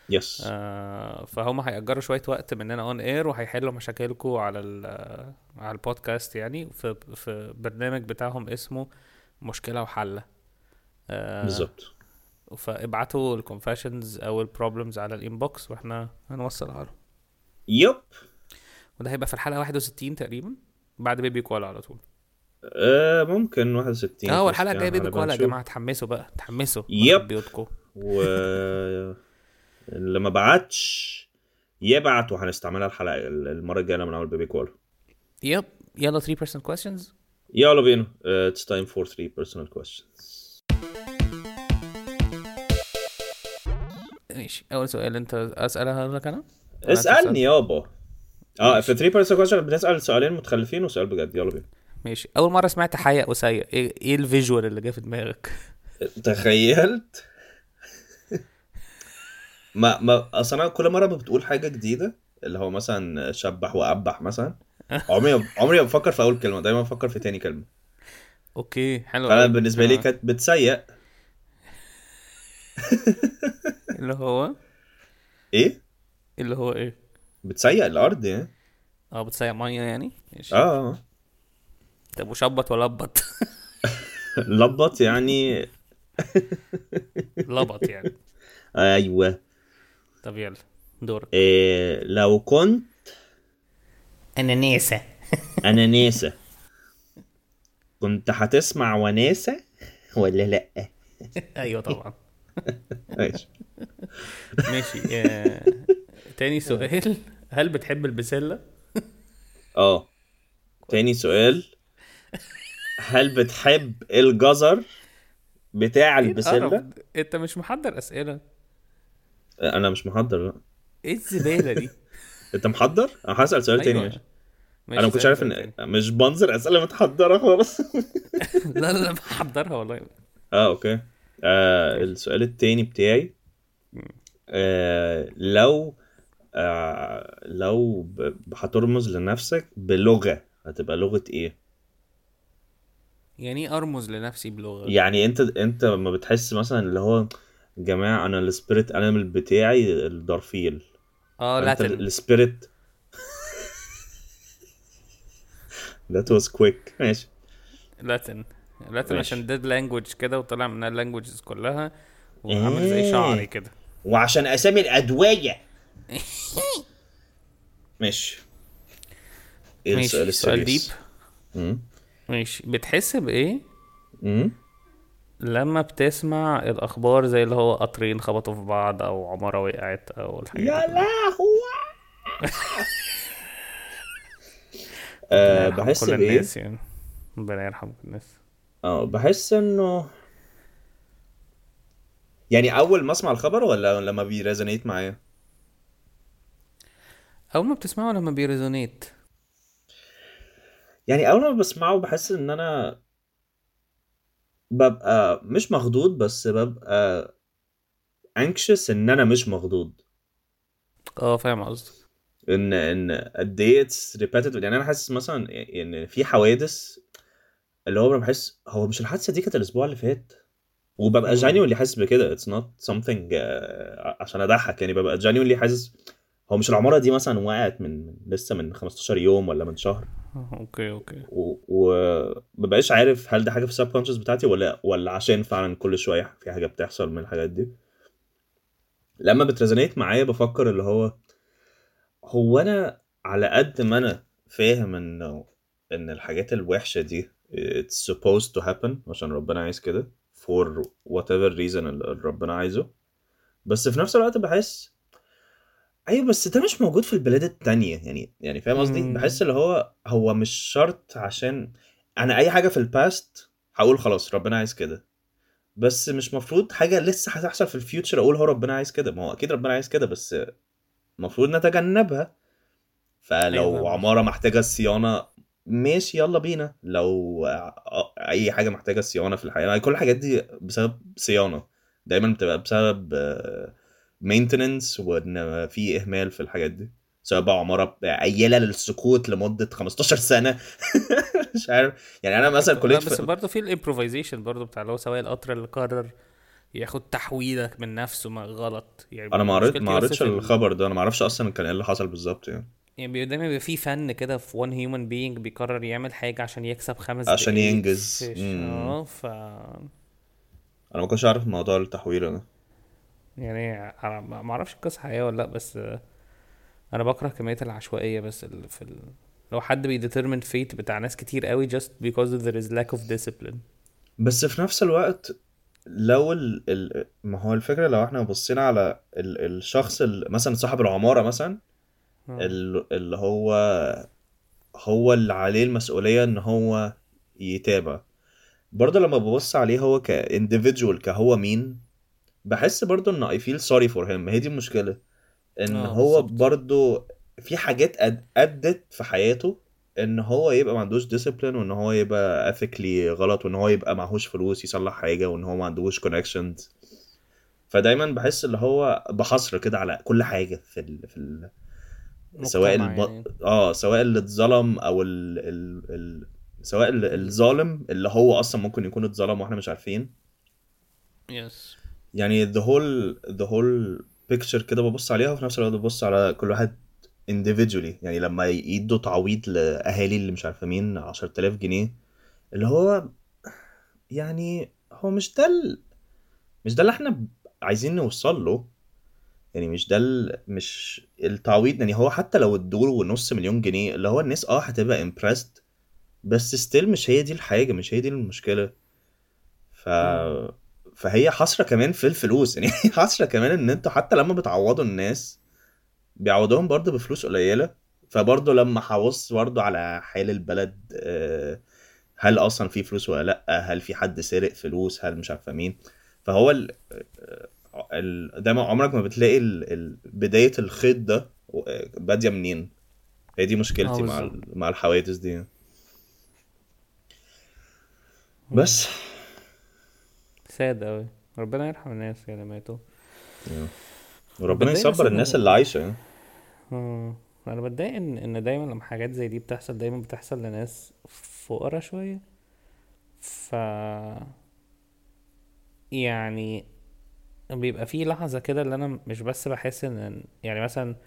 يس. آه فهم هيأجروا شويه وقت مننا اون اير وهيحلوا مشاكلكم على ال- على البودكاست يعني في في برنامج بتاعهم اسمه مشكله وحل. آه بالظبط. فابعتوا الكونفشنز او البروبلمز على الانبوكس واحنا هنوصلها لهم. يب. وده هيبقى في الحلقه واحد وستين تقريبا بعد بيبي كوالا على طول. آه ممكن واحد وستين. اه في الحلقه وسط الجايه يعني بيبي هنبقى كوالا يا نشوف. جماعه، تحمسوا بقى تحمسوا يب. في بيوتكم. و اللي ما بعتش يبعت وهنستعملها الحلقه المره الجايه من اول بيبي كول. يب يلا three personal questions. يلا بينا. uh, it's time for three personal questions. ماشي اول سؤال انت اسالها لك انا. ولا أنت اسالني تسأل؟ يابا. اه ماشي. في three personal questions بنسال سؤالين متخلفين وسؤال بجد. يلا بينا. ماشي اول مره سمعت حياء وسيء ايه, إيه الفيجوال اللي جه في دماغك؟ تخيلت ما ما اصلا أنا كل مره بتقول حاجه جديده اللي هو مثلا شبح وابح مثلا عمري عمري ما بفكر في اول كلمه، دايما بفكر في تاني كلمه. اوكي حلو فانا قوي. بالنسبه لي كانت بتسيء. اللي هو ايه اللي هو ايه بتسيء الارض يعني. اه بتسيق ميه يعني. ماشي. اه طب وشبط ولا لبط؟ لبط يعني. لبط يعني. ايوه. طب يلا دورك. إيه لو كنت انا نيسة. انانيسه كنت هتسمع وناسه ولا لا؟ ايوه طبعا. ماشي. ماشي. آه... تاني سؤال هل بتحب البسلة؟ اه تاني سؤال هل بتحب الجزر بتاع ايه القرف البسله؟ ده؟ انت مش محضر اسئلة؟ انا مش محضر. لا ايه الزبالة دي؟ انت محضر. انا هسأل سؤال تاني. ايوه ماشي. ماشي انا ما كنتش اسألني عارف سؤال ان تاني. مش بنظر اسئله متحضره خالص. لا لا لا محضرها والله. اه اوكي. آه ماشي. السؤال التاني بتاعي آه لو آه لو ب- هترمز لنفسك بلغه هتبقى لغه ايه؟ يعني ايه ارمز لنفسي بلغة؟ يعني انت انت لما بتحس مثلا اللي هو جماعه انا السبيريت انيمال بتاعي الدرفيل. اه فانت لاتن. السبيريت. that was quick. ماشي لاتن لاتن ماشي. عشان ديد لانجوج كده وطلع منها اللانجوجز كلها وعامل زي ايه شعري كده. وعشان اسامي الادويه. ماشي. ايه السؤال ماشي سؤال ديب. السيريس؟ امم ماشي بتحس بايه امم لما بتسمع الاخبار زي اللي هو قطرين خبطوا في بعض او عمارة وقعت او الحاجات دي يا كلها؟ لهوي. ربنا أه يرحم بحس كل بايه؟ الناس يعني. ربنا يرحم كل الناس. اه بحس انه يعني اول ما اسمع الخبر ولا لما بيريزونيت معايا؟ اول ما بتسمعه لما بيريزونيت. يعني اول ما بسمعه بحس ان انا ببقى مش مخضوض بس ببقى anxious ان انا مش مخضوض. اه فاهم قصدك. ان ان قد ايه اتس ريبيتيتيف. يعني انا حاسس مثلا ان في حوادث اللي هو بحس هو مش الحادثه دي كانت الاسبوع اللي فات وببقى مم. جانيولي حاسس بكده. it's not something uh, عشان اضحك يعني. ببقى جانيولي حاسس هو مش العماره دي مثلا وقعت من من- لسه من خمستاشر يوم ولا من شهر آه، اوكي اوكي. ومبقاش عارف هل ده حاجه في السب كونشس بتاعتي ولا ولا عشان فعلا كل شويه في حاجه بتحصل من الحاجات دي. لما بتريزونيت معايا بفكر اللي هو هو انا على قد ما انا فاهم انه ان الحاجات الوحشه دي it's supposed to happen عشان ربنا عايز كده for whatever reason اللي ربنا عايزه. بس في نفس الوقت بحس ايوه بس ده مش موجود في البلاد التانية. يعني يعني فاهم قصدي. مم. بحس اللي هو هو مش شرط عشان انا اي حاجه في الباست هقول خلاص ربنا عايز كده. بس مش مفروض حاجه لسه هتحصل في الفيوتشر اقول هو ربنا عايز كده. ما هو اكيد ربنا عايز كده بس المفروض نتجنبها. ايوه فلو فاهم عماره قصدك. محتاجه صيانه ماشي يلا بينا. لو آه، اي حاجه محتاجه صيانه في الحياه يعني كل الحاجات دي بسبب صيانه دايما بتبقى بسبب مينتننس وان في اهمال في الحاجات دي سواء بقى عماره قايله للسكوت لمده خمستاشر سنه. مش عارف يعني انا مثلا لا كليه بس ف... برضه في الامبروفيزيشن برضه بتاع اللي هو سواق القطر اللي قرر ياخد تحويلة من نفسه ما غلط يعني. انا ما قريت ما مشكلتي بس قريتش في ال... الخبر ده، انا ما اعرفش اصلا كان ايه اللي حصل بالظبط يعني. يعني بي- دايما بيبقى في فن كده في one human being بيقرر يعمل حاجة عشان يكسب خمس عشان دقايق ينجز. في ش- امم اه ف انا ما كنتش عارف موضوع التحويل ده. يعني انا ما ما اعرفش القصة حقيقية ولا لا، بس آه، انا بكره كمية العشوائية بس ال... في ال... لو حد بيديترمن فيت بتاع ناس كتير قوي just because there is lack of discipline. بس في نفس الوقت لو ال... ال... ما هو الفكرة لو احنا بصينا على ال... الشخص ال... مثلا صاحب العمارة مثلا، اه ال... اللي هو هو اللي عليه المسؤولية ان هو يتابع. برضه لما ببص عليه هو كانديفيدجوال كهو مين، بحس برضه ان I feel sorry for him. هي دي المشكلة، ان اه هو بالظبط. برضه في حاجات أد... ادت في حياته ان هو يبقى ما عندوش ديسيبلين، وان هو يبقى ethically غلط، وان هو يبقى معهوش فلوس يصلح حاجة، وان هو ما عندوش connections. فدايما بحس اللي هو بحصر كده على كل حاجة في ال... في ال... سواء مجتمع الب... يعني. اه سواء اللي اتظلم او ال... ال... ال... سواء ال- ال... الظالم اللي هو اصلا ممكن يكون اتظلم واحنا مش عارفين. يس. يعني the whole the whole picture كده ببص عليها، وفي نفس الوقت ببص على كل واحد individually. يعني لما يدوا تعويض لأهالي اللي مش عارفة مين عشرة آلاف جنيه، اللي هو يعني هو مش ده ال... مش ده اللي احنا ب- عايزين نوصل له. يعني مش ده ال... مش التعويض. يعني هو حتى لو ادوله نص مليون جنيه، اللي هو الناس اه هتبقى impressed، بس still مش هي دي الحاجة، مش هي دي المشكلة. ف مم. فهي حسرة كمان في الفلوس. يعني حسرة كمان ان انتوا حتى لما بتعوضوا الناس بيعوضوهم برضه بفلوس قليلة. فبرضه لما هبص برضه على حال البلد، آه، هل اصلا في فلوس ولا لا، هل في حد سرق فلوس، هل مش عارفه مين. فهو ال... ال... دايما عمرك ما بتلاقي ال... ال... بداية الخيط ده آه، بادية منين. هي دي اه مشكلتي مع بالظبط. ال... مع الحوادث دي. مم. بس ساد اوي. ربنا يرحم الناس اللي ماتوا. آه. انا وربنا بتضايق بس يصبر الناس ان اللي عايشة يعني. اه انا بتضايق ان ان دايما لما حاجات زي دي بتحصل دايما بتحصل لناس فقرا شوية. ف يعني بيبقى في لحظة كده اللي انا مش بس بحس ان يعني مثلا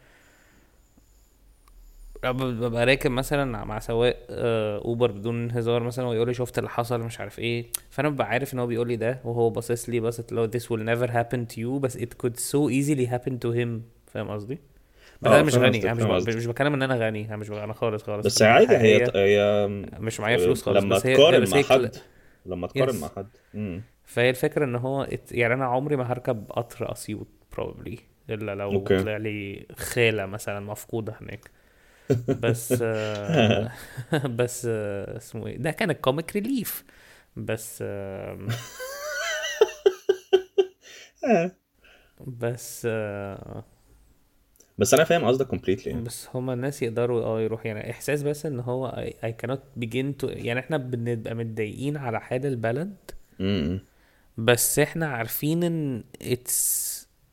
ببقى راكب مثلا مع سواق آه، اوبر بدون هزار مثلا ويقول لي شفت اللي حصل مش عارف ايه، فانا ببقى عارف ان هو بيقول لي ده وهو باصص لي بصت لو this will never happen to you بس it could so easily happen to him. فاهم قصدي؟ بس انا اه مش فاهم غني، قصدك، انا مش فاهم ب... قصدك. مش بتكلم ان انا غني، انا مش انا خالص خالص بس خالص عادي، هي الحقيقيه. هي مش معايا فلوس خالص، لما بس هي تقارن بس مع هي كل... حد لما تقارن مع يس. حد امم فهي الفكره ان هو ات... يعني انا عمري ما هركب قطر اسيوط probably الا لو اوكي. طلع لي خاله مثلا مفقوده هناك. بس آه، بس آه، اسمه ايه ده كان الكوميك ريليف. بس آم، آه. بس آه، بس انا فاهم قصدك completely. بس هما الناس يقدروا اه يروح يعني احساس بس ان هو I, I cannot begin to يعني احنا بنبقى متضايقين على حال البلد امم بس احنا عارفين ان it's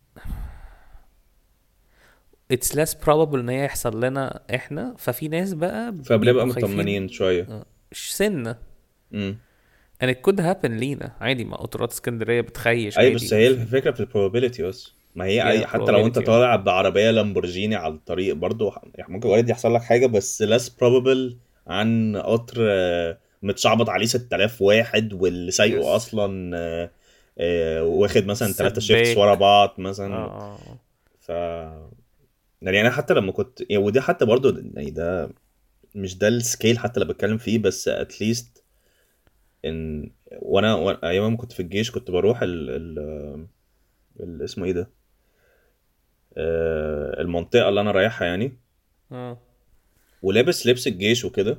it's less probable ان هي يحصل لنا احنا، ففي ناس بقى فبنبقى بيبقوا خايفين مطمنين شوية. آه، سنة امم and it could happen لينا عادي. ما قطارات اسكندرية بتخيش اي عادي بس هي وفي الفكرة في البروبابيلتي بس. ما هي يا اي حتى لو انت probability اه. طالع بعربية لامبورجيني على الطريق برضو يعني ممكن وارد يحصل لك حاجة، بس less probable عن قطر آه، متشعبط عليه ستة آلاف واحد واللي سايقه يس. اصلا آه، آه، واخد مثلا ثلاثة شيفتس ورا سباك. بعض اه مثلا. اه ف يعني انا حتى لما كنت يعني، ودي حتى برضو يعني ده مش ده السكيل حتى اللي بتكلم فيه، بس اتليست ان وانا وأنا- ايام ما كنت في الجيش كنت بروح ال ال ال- اسمه ايه ده، آه، المنطقة اللي انا رايحها يعني، اه ولابس لبس الجيش وكده.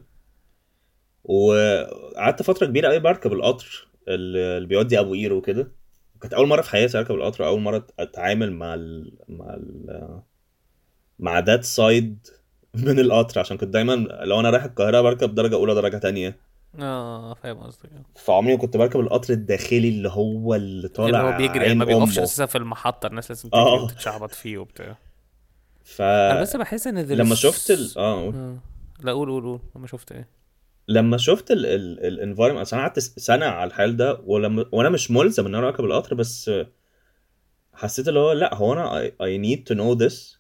وقعدت فترة كبيرة قوي بركب القطر اللي اللي بيودي ابو قير وكده. كانت اول مرة في حياتي اركب القطر، اول مرة اتعامل مع ال مع ال مع ذات سايد من القطر، عشان كنت دايما لو انا رايح القاهرة بركب درجة اولى درجة تانية. اه فاهم قصدك اه. فعمري ما كنت بركب القطر الداخلي اللي هو اللي اللي طالع هو بيجري يعني عين ما بيقفش امه. اساسا في المحطة، الناس لازم تجري اه وتتشعبط فيه وبتاع. انا بس فلما بحس ان there is شفت ال... اه اه لا قول قول قول انا شفت ايه. لما شفت الانفايرمنت انا قعدت سنه على الحال ده، ولما وانا مش ملزم ان انا اركب القطر، بس حسيت اللي هو لا، هو انا I, I need to know this.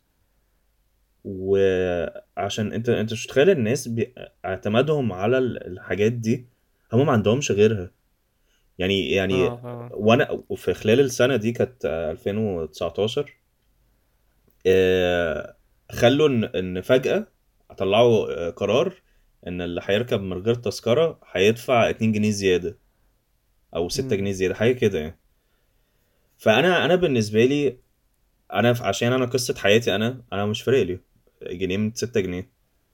وعشان انت انت مش متخيل الناس بي- اعتمادهم على ال- الحاجات دي، هم ما عندهمش غيرها. يعني يعني اه اه وانا في خلال السنه دي كانت آه، ألفين وتسعتاشر، آه، خلوا ان ان فجاه طلعوا آه، قرار ان اللي هيركب من غير تذكره هيدفع اتنين جنيه زياده او ستة مم. جنيه زياده، حاجه كده يعني. فانا انا بالنسبه لي، انا ف- عشان انا قصه حياتي، انا انا مش فارق لي جنيه من ستة جنيه.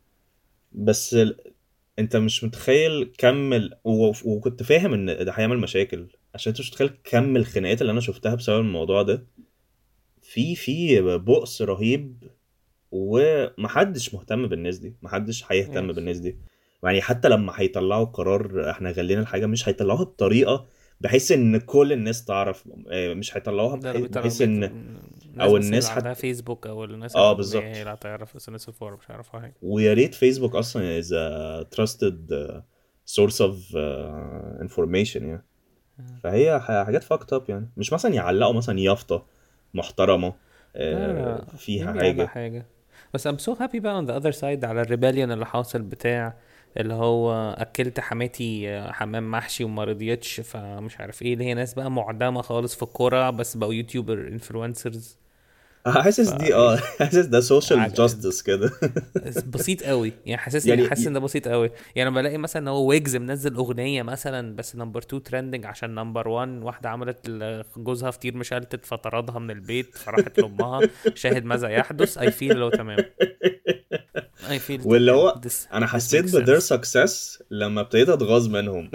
بس ال- انت مش متخيل كم ال... و... وكنت فاهم ان ده هيعمل مشاكل، عشان انت مش متخيل كم الخناقات اللي انا شفتها بسبب الموضوع ده. في في بؤس رهيب، ومحدش مهتم بالناس دي، محدش هيهتم يس. بالناس دي. يعني حتى لما هيطلعوا قرار احنا غلينا الحاجة، مش هيطلعوها بطريقة بحيث ان كل الناس تعرف، اه، مش هيطلعوها ده اللي بحيث, بيطلع بحيث بيت... ان الناس او بس اللي الناس عندها حتى. فيسبوك او الناس اه الاغنياء هي بالظبط. اللي هتعرف اس ان اس فور، مش هيعرفوا حاجه. ويا ريت فيسبوك اصلا is a trusted uh, source of uh, information يعني. فهي ح- حاجات fucked up يعني، مش مثلا يعلقوا مثلا يافطة محترمة لا آه، لا، فيها مين بيعلق حاجة. حاجة؟ بس I'm so happy بقى on the other side على الريبellion اللي حاصل بتاع اللي هو أكلت حماتي آه، حمام محشي وما رضيتش، فمش عارف ايه، اللي هي ناس بقى معدمة خالص في الكورة بس بقوا يوتيوبر انفلونسرز. حاسس ف دي اه حاسس ده social عج- justice كده. بسيط قوي يعني، حاسسني يعني حاسس ان ده بسيط قوي يعني. لما بلاقي مثلا ان هو ويجز منزل اغنيه مثلا بس نمبر اتنين ترندنج عشان نمبر واحد واحده عملت ل- جوزها فطير مشلتت فطردها من البيت فراحت لامها، شاهد ماذا يحدث، اي فيل لو تمام. اي فيل واللي تمام. هو this انا this حسيت makes ب their sense. success لما ابتديت اتغاظ منهم.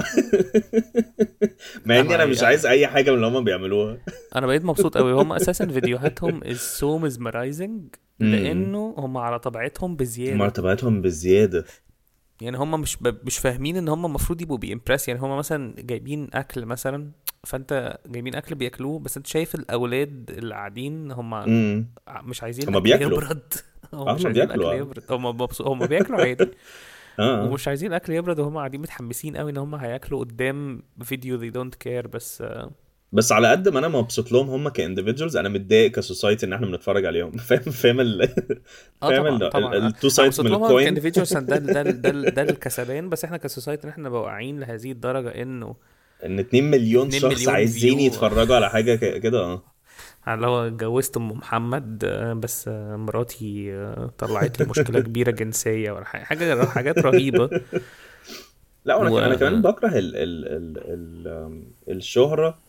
مع اني انا انا مش عايز انا اي حاجه من اللي هم بيعملوها. أنا بقيت مبسوط قوي. هم اساسا فيديوهاتهم is so mesmerizing امم لانه هم على طبيعتهم بزياده. مرتباتهم بزياده. يعني هم مش ب... مش فاهمين ان هم المفروض يبقوا بيمبرس. يعني هم مثلا جايبين اكل مثلا، فانت جايبين اكل بياكلوه بس انت شايف الاولاد اللي قاعدين هم امم مش عايزين هما الاكل بياكلوا. يبرد. هم اه مش هما عايزين بياكلوا الاكل اه. يبرد، هم مبسو... هم بياكلوا عادي اه اه. ومش عايزين الاكل يبرد، وهم قاعدين متحمسين قوي ان هم هياكلوا قدام فيديو they don't care. بس آه، بس على قد ما انا مبسوط لهم هم كاندفيدجوالز، انا متضايق كسوسايتي ان احنا بنتفرج عليهم. فاهم فاهم ال اه فاهم طبعا طبعا التو انا سايدز من مبسوط لهم الكوين. كانديفيدوالز. ده ال- ده ال- ده ال- ده الكسبان، بس احنا كسوسايتي ان احنا نبقى واعيين لهذه الدرجه انه ان اتنين مليون اتنين شخص مليون عايزين فيو. يتفرجوا على حاجه ك- كده اه. اللي هو اتجوزت ام محمد آه، بس آه، مراتي آه، طلعت لي مشكله كبيره جنسيه ولا حاجه، حاجه حاجات رهيبه. لا وانا ك- انا كمان و بكره ال ال ال ال آم، الشهرة.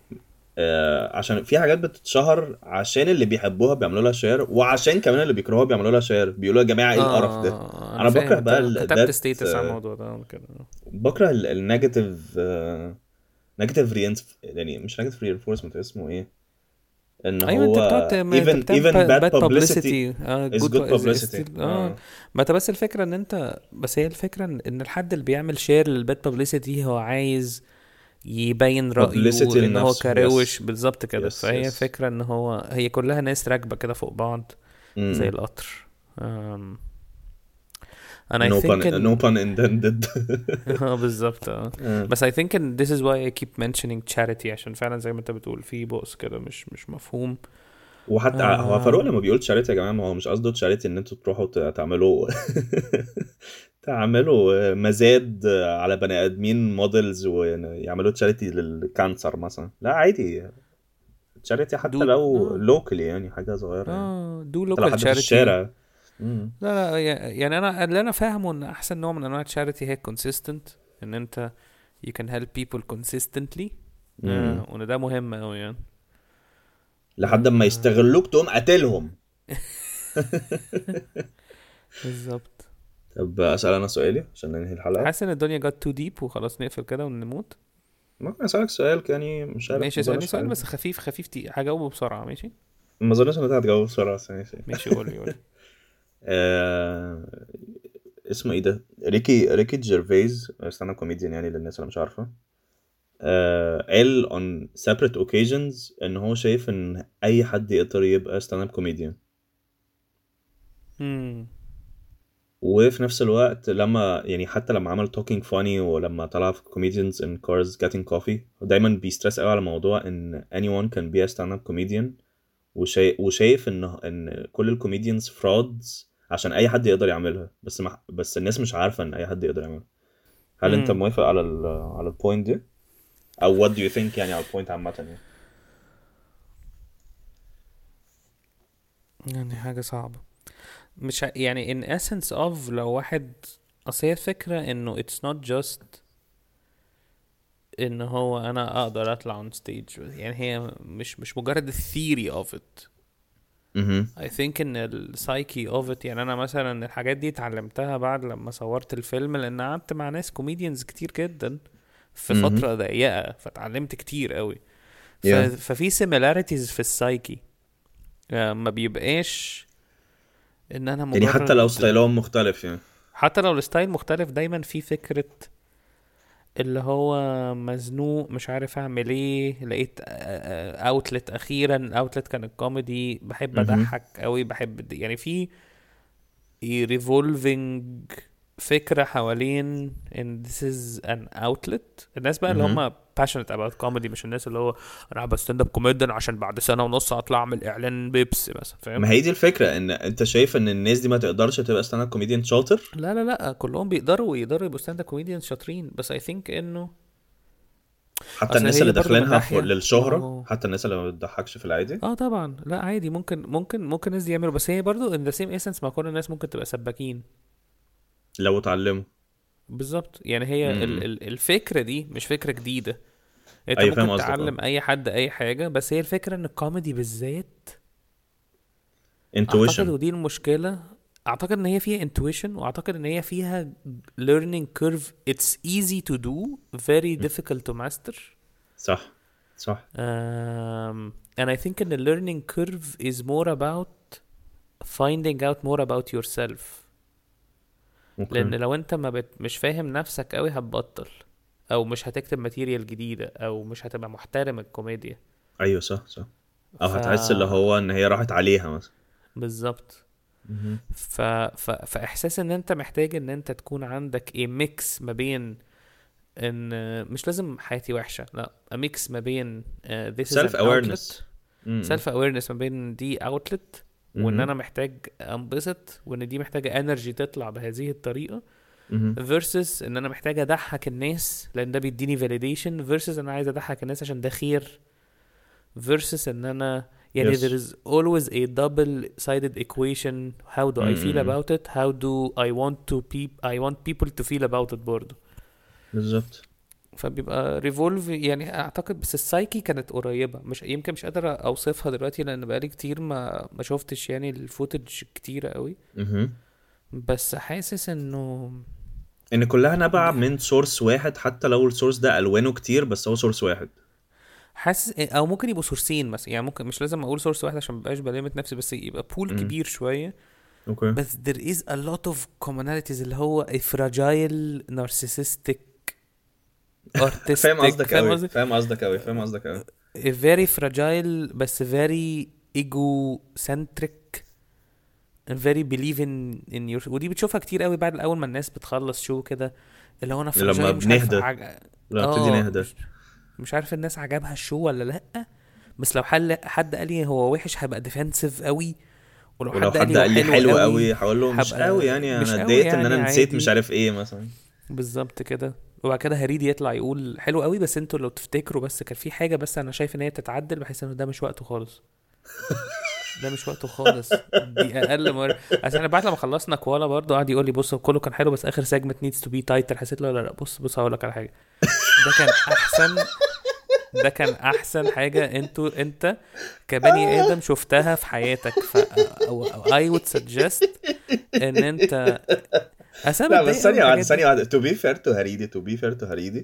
آه، عشان في حاجات بتتشهر عشان اللي بيحبوها بيعملوا لها شير، وعشان كمان اللي بيكرهوها بيعملوا لها شير، بيقولوا يا جماعة ايه القرف ده. اه انا انا فاهم، بكره بقى انت كتبت ده. ستيتس على الموضوع ده كده. بكره النيجاتيف نيجاتيف رينس، يعني مش نيجاتيف رينفورسمنت، اسمه ايه؟ ان ايوه انت هو بتقعد تعم- انت even بتعمل even bad باد publicity بابليستي. اه is جود good publicity. ستيل اه. اه ما انت بس الفكره ان انت، بس هي الفكره ان إن الحد اللي بيعمل شير للباد بابليستي هو عايز يبين publicity رأيه ان هو لنفسه. كروش yes بالظبط كده. yes فهي yes. فكرة ان هو هي كلها ناس راكبة كده فوق بعض زي امم القطر. um, and I no pun think no in pun intended. اه بالظبط اه. آه. بس I think in this is why I keep mentioning charity عشان فعلا زي ما انت بتقول في بؤس كده مش مش مفهوم. وحتى هو فاروق آم، لما بيقول تشاريتي يا جماعه، ما هو مش قصده تشاريتي ان انتوا تروحوا ت- تعملوا تعملوا مزاد على بني ادمين موديلز ويعملوا تشاريتي للكانسر مثلا. لا عادي، تشاريتي حتى do لو اه لوكالي يعني حاجه صغيره يعني. اه do حتى لو local حد في charity. الشارع. امم لا لا ي- يعني انا اللي انا فاهمه ان احسن نوع من انواع charity هي consistent، ان انت you can help people consistently. امم آه وان ده مهم قوي يعني. لحد ما آه يستغلوك تقوم قاتلهم. بالظبط. طب اسال انا سؤالي عشان ننهي الحلقه. حاسس ان الدنيا جت تو ديب وخلاص نقفل كده ونموت. ممكن اسالك سؤال يعني، مش عارف، ماشي ما اسألني اظنش سؤال حاجه. بس خفيف خفيف تي هجاوبه بسرعة. ماشي ما اظنش ان انت هتجاوب بسرعه، بس ماشي. ماشي قولي قولي. آه... اسمه ايه ده؟ ريكي ريكي جيرفيز، ستاند اب كوميديان يعني للناس اللي مش عارفه. آه... قال on separate occasions ان هو شايف ان اي حد يقدر يبقى ستاند اب كوميديان. امم وفي نفس الوقت لما يعني حتى لما عمل توكينج فاني ولما طلع في comedians in cars getting coffee دايما بيسترس قوي على موضوع ان anyone can be a stand-up comedian وشايف وشايف ان ان كل الكوميديانز فرودز عشان اي حد يقدر يعملها بس مح... بس الناس مش عارفه ان اي حد يقدر يعملها. هل انت مم. موافق على ال على البوينت دي او what do you think يعني على البوينت عامه يعني؟ يعني حاجة صعبة، مش ع- يعني in essence of لو واحد، اصل هي الفكرة انه it's not just ان هو انا اقدر اطلع on stage، يعني هي مش مش مجرد الثيري of it. اها I think ان السايكي of it، يعني انا مثلا الحاجات دي اتعلمتها بعد لما صورت الفيلم، لان قعدت مع ناس كوميديانز كتير جدا في اها فترة ضيقة، فتعلمت كتير قوي. ف... yeah ففي similarities في السايكي، آه، ما بيبقاش ان انا يعني حتى لو مجرد، ستايلهم مختلف يعني. حتى لو الستايل مختلف دايما في فكرة اللي هو مزنوق مش عارف اعمل ايه، لقيت اوتلت اخيرا، الاوتلت كان الكوميدي، بحب اها اضحك قوي، بحب يعني في ريفولفينج فكرة حوالين ان this is an outlet. الناس بقى اللي اها هم passionate about comedy، مش الناس اللي هو انا بستند اب كوميديان عشان بعد سنة ونص اطلع اعمل اعلان بيبس مثلا، فاهم؟ ما هي دي الفكره، ان انت شايف ان الناس دي ما تقدرش تبقى ستاند اب كوميديان شاطر. لا لا لا، كلهم بيقدروا ويقدروا يبقوا ستاند اب كوميديان شاطرين، بس I think انه حتى اصل الناس هي اللي برضو من داخلينها ف- ناحية، ما للشهره، هو حتى الناس اللي ما بتضحكش في العادي اه طبعا لا عادي، ممكن ممكن ممكن الناس دي يعملوا، بس هي برضو in the same essence ما كل الناس ممكن تبقى سباكين. لو اتعلموا. بالظبط، يعني هي ال امم ال الفكرة دي مش فكرة جديدة، انت ايوه فاهم ممكن قصدك اه. تعلم اي حد اي حاجة، بس هي الفكرة ان الكوميدي بالذات اعتقد، intuition. ودي المشكلة، اعتقد ان هي فيها intuition، واعتقد ان هي فيها learning curve. it's easy to do, very difficult to master. صح صح. um, and I think in the learning curve is more about finding out more about yourself. لان اوكي لو انت ما بت... مش فاهم نفسك قوي هتبطل، او مش هتكتب ماتيريال جديدة، او مش هتبقى محترم الكوميديا. ايوه صح صح. او ف هتحس اللي هو ان هي راحت عليها مثلا. بالظبط. مهم. ف... ف... فاحساس ان انت محتاج ان انت تكون عندك ايه ميكس ما بين ان مش لازم حياتي وحشة، لا ميكس ما بين uh, this is self an awareness. outlet، امم self awareness ما بين دي outlet، وان انا محتاج انبسط، وان دي محتاجة انرجي تطلع بهذه الطريقة، مهم. versus ان انا محتاج اضحك الناس لان ده بيديني validation، versus ان انا عايز اضحك الناس عشان ده خير، versus ان انا يعني yes. there is always a double sided equation. how do I feel امم about it, how do I want to peop I want people to feel about it برضه. بالظبط. فبيبقى ريفولف يعني اعتقد، بس السايكي كانت قريبة، مش يمكن مش قادر اوصفها دلوقتي لان بقالي كتير ما ما شفتش يعني الفوتج كتيرة قوي، مهم. بس حاسس انه ان كلها نبع من سورس واحد، حتى لو السورس ده الوانه كتير بس هو سورس واحد. حاسس او ممكن يبقوا سورسين مثلا، يعني ممكن مش لازم اقول سورس واحد عشان مبقاش بلمت نفسي، بس يبقى بول مم. كبير شويه. اوكي بس there is a lot of commonalities، اللي هو a fragile narcissistic artistic. فاهم قصدك فاهم قوي قصدي؟ فاهم قصدك قوي فاهم قصدك قوي. a very fragile بس very egocentric and very believe in in your. ودي بتشوفها كتير قوي بعد اول ما الناس بتخلص شو كده، اللي هو انا fragile لما مش عارف بنهدى عج... لما بتبتدي اه نهدى مش, مش عارف الناس عجبها الشو ولا لا، بس لو حل حد قال لي هو وحش هيبقى ديفensive قوي، ولو, ولو حد قال حد لي هو قال لي حلو, حلو قوي قوي هقول له مش هبقى قوي يعني مش انا قوي اتضايقت ان يعني انا نسيت عادي. مش عارف ايه مثلا. بالظبط كده. وبعد كده هريدي يطلع يقول حلو قوي، بس انتوا لو تفتكروا بس كان في حاجه، بس انا شايف ان هي تتعدل، بحيث انه ده مش وقته خالص. ده مش وقته خالص، دي اقل مره. عشان انا بعد لما خلصنا كوالا برضو قعد يقول لي بص كله كان حلو بس اخر سيجمنت نيدز تو بي تايتر. حسيت له لا لا بص بص هقول لك على حاجه، ده كان احسن ده كان احسن حاجه انتوا انت كبني ادم شفتها في حياتك. ف I would suggest ان انت اسامه لا بس تضايق قوي ثانية واحدة الحاجات ثانية دي. واحدة to be fair to هريدي to be fair to هريدي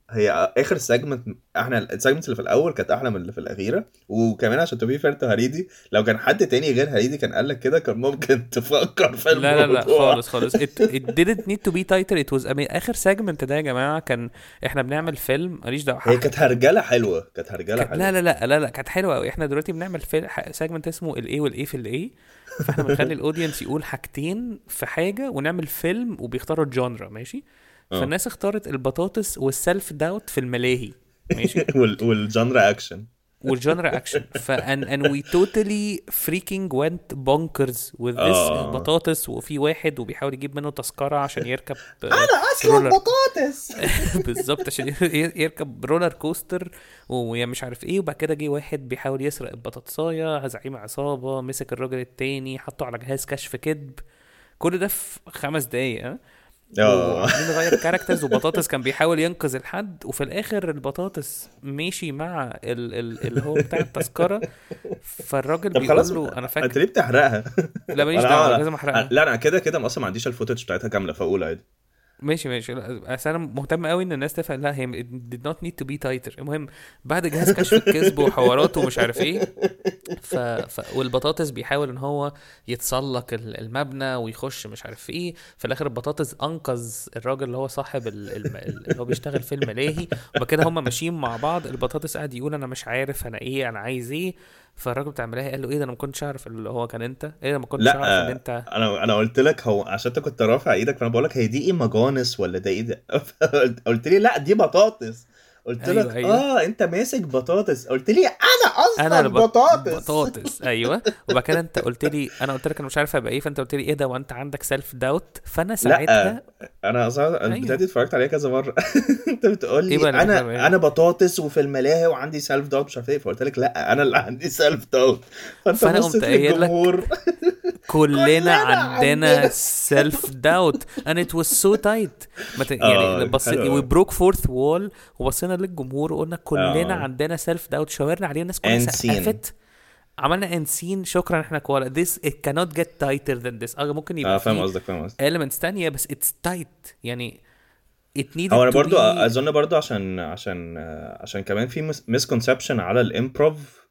هي اخر سيجمنت، احنا السيجمنت اللي في الاول كانت احلى من اللي في الاخيره. وكمان عشان تبي فيرت هريدي، لو كان حد تاني غير هريدي كان قال لك كده كان ممكن تفكر في لا لا لا الموضوع. خالص خالص it, it didn't need to be tighter it was I mean, اخر سيجمنت ده يا جماعه كان احنا بنعمل فيلم ماليش دعوه هي كانت هرجله حلوه، كانت هرجله كانت- لا حلوه. لا لا لا لا كانت حلوه قوي. احنا دلوقتي بنعمل فيلم سيجمنت اسمه الايه والايه في الايه، فاحنا بنخلي الاودينس يقول حاجتين في حاجه ونعمل فيلم وبيختاروا الجانرا ماشي. اه فالناس اختارت البطاطس والسلف داوت في الملاهي ماشي وال والجانرا اكشن. والجانرا اكشن. ف and, and we totally freaking went bonkers with this اه بطاطس. وفي واحد وبيحاول يجيب منه تذكرة عشان يركب انا اصلا رولر بطاطس. بالظبط عشان ي- يركب رولر كوستر ومش عارف ايه. وبعد كده جه واحد بيحاول يسرق البطاطساية، زعيم عصابة مسك الراجل التاني حطه على جهاز كشف كذب. كل ده في خمس دقايق ها. اه وعاملين نغير كاركترز وبطاطس كان بيحاول ينقذ الحد وفي الاخر البطاطس ماشي مع ال ال اللي هو بتاع التذكره. فالراجل طب خلاص، بيقول له انا انت فاكر ليه بتحرقها؟ لا ماليش انا دعوه أنا- لازم احرقها. لا انا كده كده اصلا ما عنديش الفوتج بتاعتها كامله فاقول عادي. ماشي ماشي لا، بس انا مهتم قوي ان الناس تفهم. لا هي it did not need to be tighter. المهم بعد جهاز كشف الكذب وحواراته ومش عارف ايه ف... ف... والبطاطس بيحاول ان هو يتسلق ال- المبنى ويخش مش عارف ايه. في الاخر البطاطس انقذ الراجل اللي هو صاحب ال... الم... اللي هو بيشتغل في الملاهي. وبعد كده هم ماشيين مع بعض. البطاطس قاعد يقول انا مش عارف انا ايه انا عايز ايه. فالراجل بتاع الملاهي قال له ايه ده انا ما كنتش اعرف اللي هو كان انت ايه ده ما كنتش اعرف ان لا انت. انا انا قلت لك هو عشان انت كنت رافع ايدك، فانا بقول لك هي دي ايه مجانس ولا ده ايه ده؟ قلت لي لا دي بطاطس. قلت أيوة، لك أيوة. اه انت ماسك بطاطس. قلت لي انا اصلا انا البط... بطاطس. بطاطس ايوه. وبعد كده انت قلت لي انا قلت لك انا مش عارف ابقى ايه. فانت قلت لي ايه ده وانت عندك سيلف داوت. فانا ساعتها لا انا اصلا البتاعه ايوه دي اتفرجت عليها كذا مره. انت بتقول ايه لي بقى اللي بتعمل انا ايه. انا بطاطس وفي الملاهي وعندي سيلف داوت مش عارف ايه، فقلت لك لا انا اللي عندي سيلف داوت. فانت فانا قمت بصيت قايل لك للجمهور. كلنا كلنا عندنا عندنا. سيلف داوت and it was so tight. ما ت... اه يعني بص حلو we أوي. broke fourth wall وبصينا للجمهور وقلنا كلنا اه عندنا سيلف داوت. شاورنا عليه الناس كلها end scene. سقفت. عملنا انسين شكرا احنا كوالا. this it cannot get tighter than this. اه ممكن اه يبقى فاهم فيه قصدك فاهم قصدك. elements تانية بس it's tight يعني it needed هو انا to برضو be. اظن برضو عشان عشان آه، عشان كمان في مسكونسبشن على الامبروف.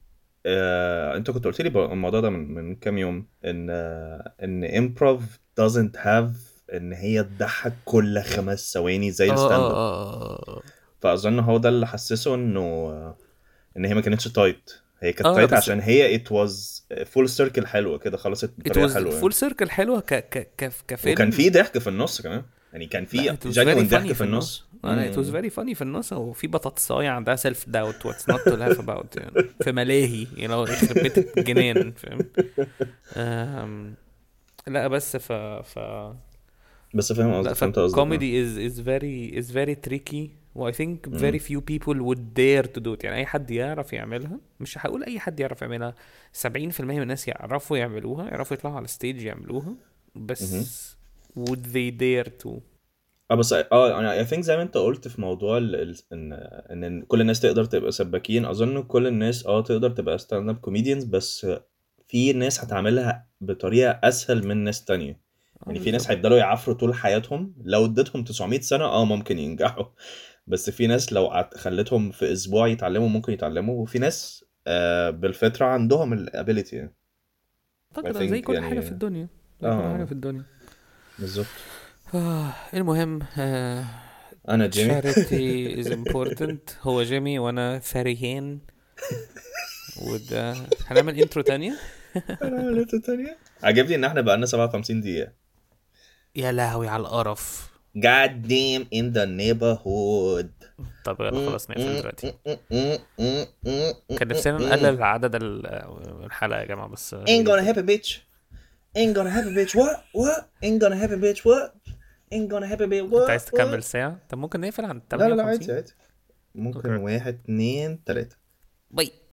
آه، انت كنت قلت لي بر- الموضوع ده من من كام يوم ان آه، ان امبروف doesn't have ان هي تضحك كل خمس ثواني زي اه الستاند اه اب. اه اه فاظن هو ده اللي حسسه انه آه، ان هي ما كانتش تايت. هي كانت اه تايت بس عشان هي it was full circle حلوه كده، خلصت it بطريقه was حلوه يعني. full circle حلوة ك ك ك وكان كفيلم. في ضحك في النص كمان، يعني كان لا في it was very genuine ضحك funny في في النص. النص. لا it was مم. very funny في النص. وفي بطاطساية عندها self doubt what's not to laugh about يعني في ملاهي you know يخرب بيت الجنان فاهم. أم... لا بس ف ف بس فاهم لا قصدك فهمت قصدك. آه. فالكوميدي is is very is very tricky و I think مم. very few people would dare to do it. يعني أي حد يعرف يعملها. مش هقول أي حد يعرف يعملها. سبعين في المية من الناس يعرفوا يعملوها يعرفوا يطلعوا على الستيج يعملوها. مهم. بس would they dare to. اه بس اه انا I think زي ما انت قلت في موضوع ال... ال... ان ان كل الناس تقدر تبقى سباكين. اظن كل الناس اه تقدر تبقى ستاند اب كوميديانز، بس في ناس هتعملها بطريقه اسهل من ناس تانية. اه يعني في ناس بالظبط. هيفضلوا يعافروا طول حياتهم، لو اديتهم تسعمية سنه اه ممكن ينجحوا. بس في ناس لو عت- خليتهم في اسبوع يتعلموا ممكن يتعلموا، وفي ناس آه بالفطره عندهم الابيليتي يعني. I اعتقد زي think كل حاجه في يعني الدنيا زي كل حاجه اه في الدنيا. بالظبط. آه المهم آه انا جيمي. charity is important. هو جيمي وانا ثريين. وده هنعمل انترو تانية. انا عملت تانية. عجبني ان احنا بقالنا سبعة وخمسين دقيقه. يا لهوي على القرف. God damn in the neighborhood. طب يلا خلاص نقفل دلوقتي. كان نفسنا نقلل عدد ال- الحلقة يا جماعة بس Ain't gonna happen bitch. Ain't gonna happen bitch. What? What? Ain't gonna happen bitch. What? Ain't gonna happen bitch. انت What? عايز What? تكمل ساعة؟ طب ممكن نقفل عن لا لا لا ثمانية عادي وخمسين. عادي. ممكن اوكي واحد اتنين تلاتة. باي.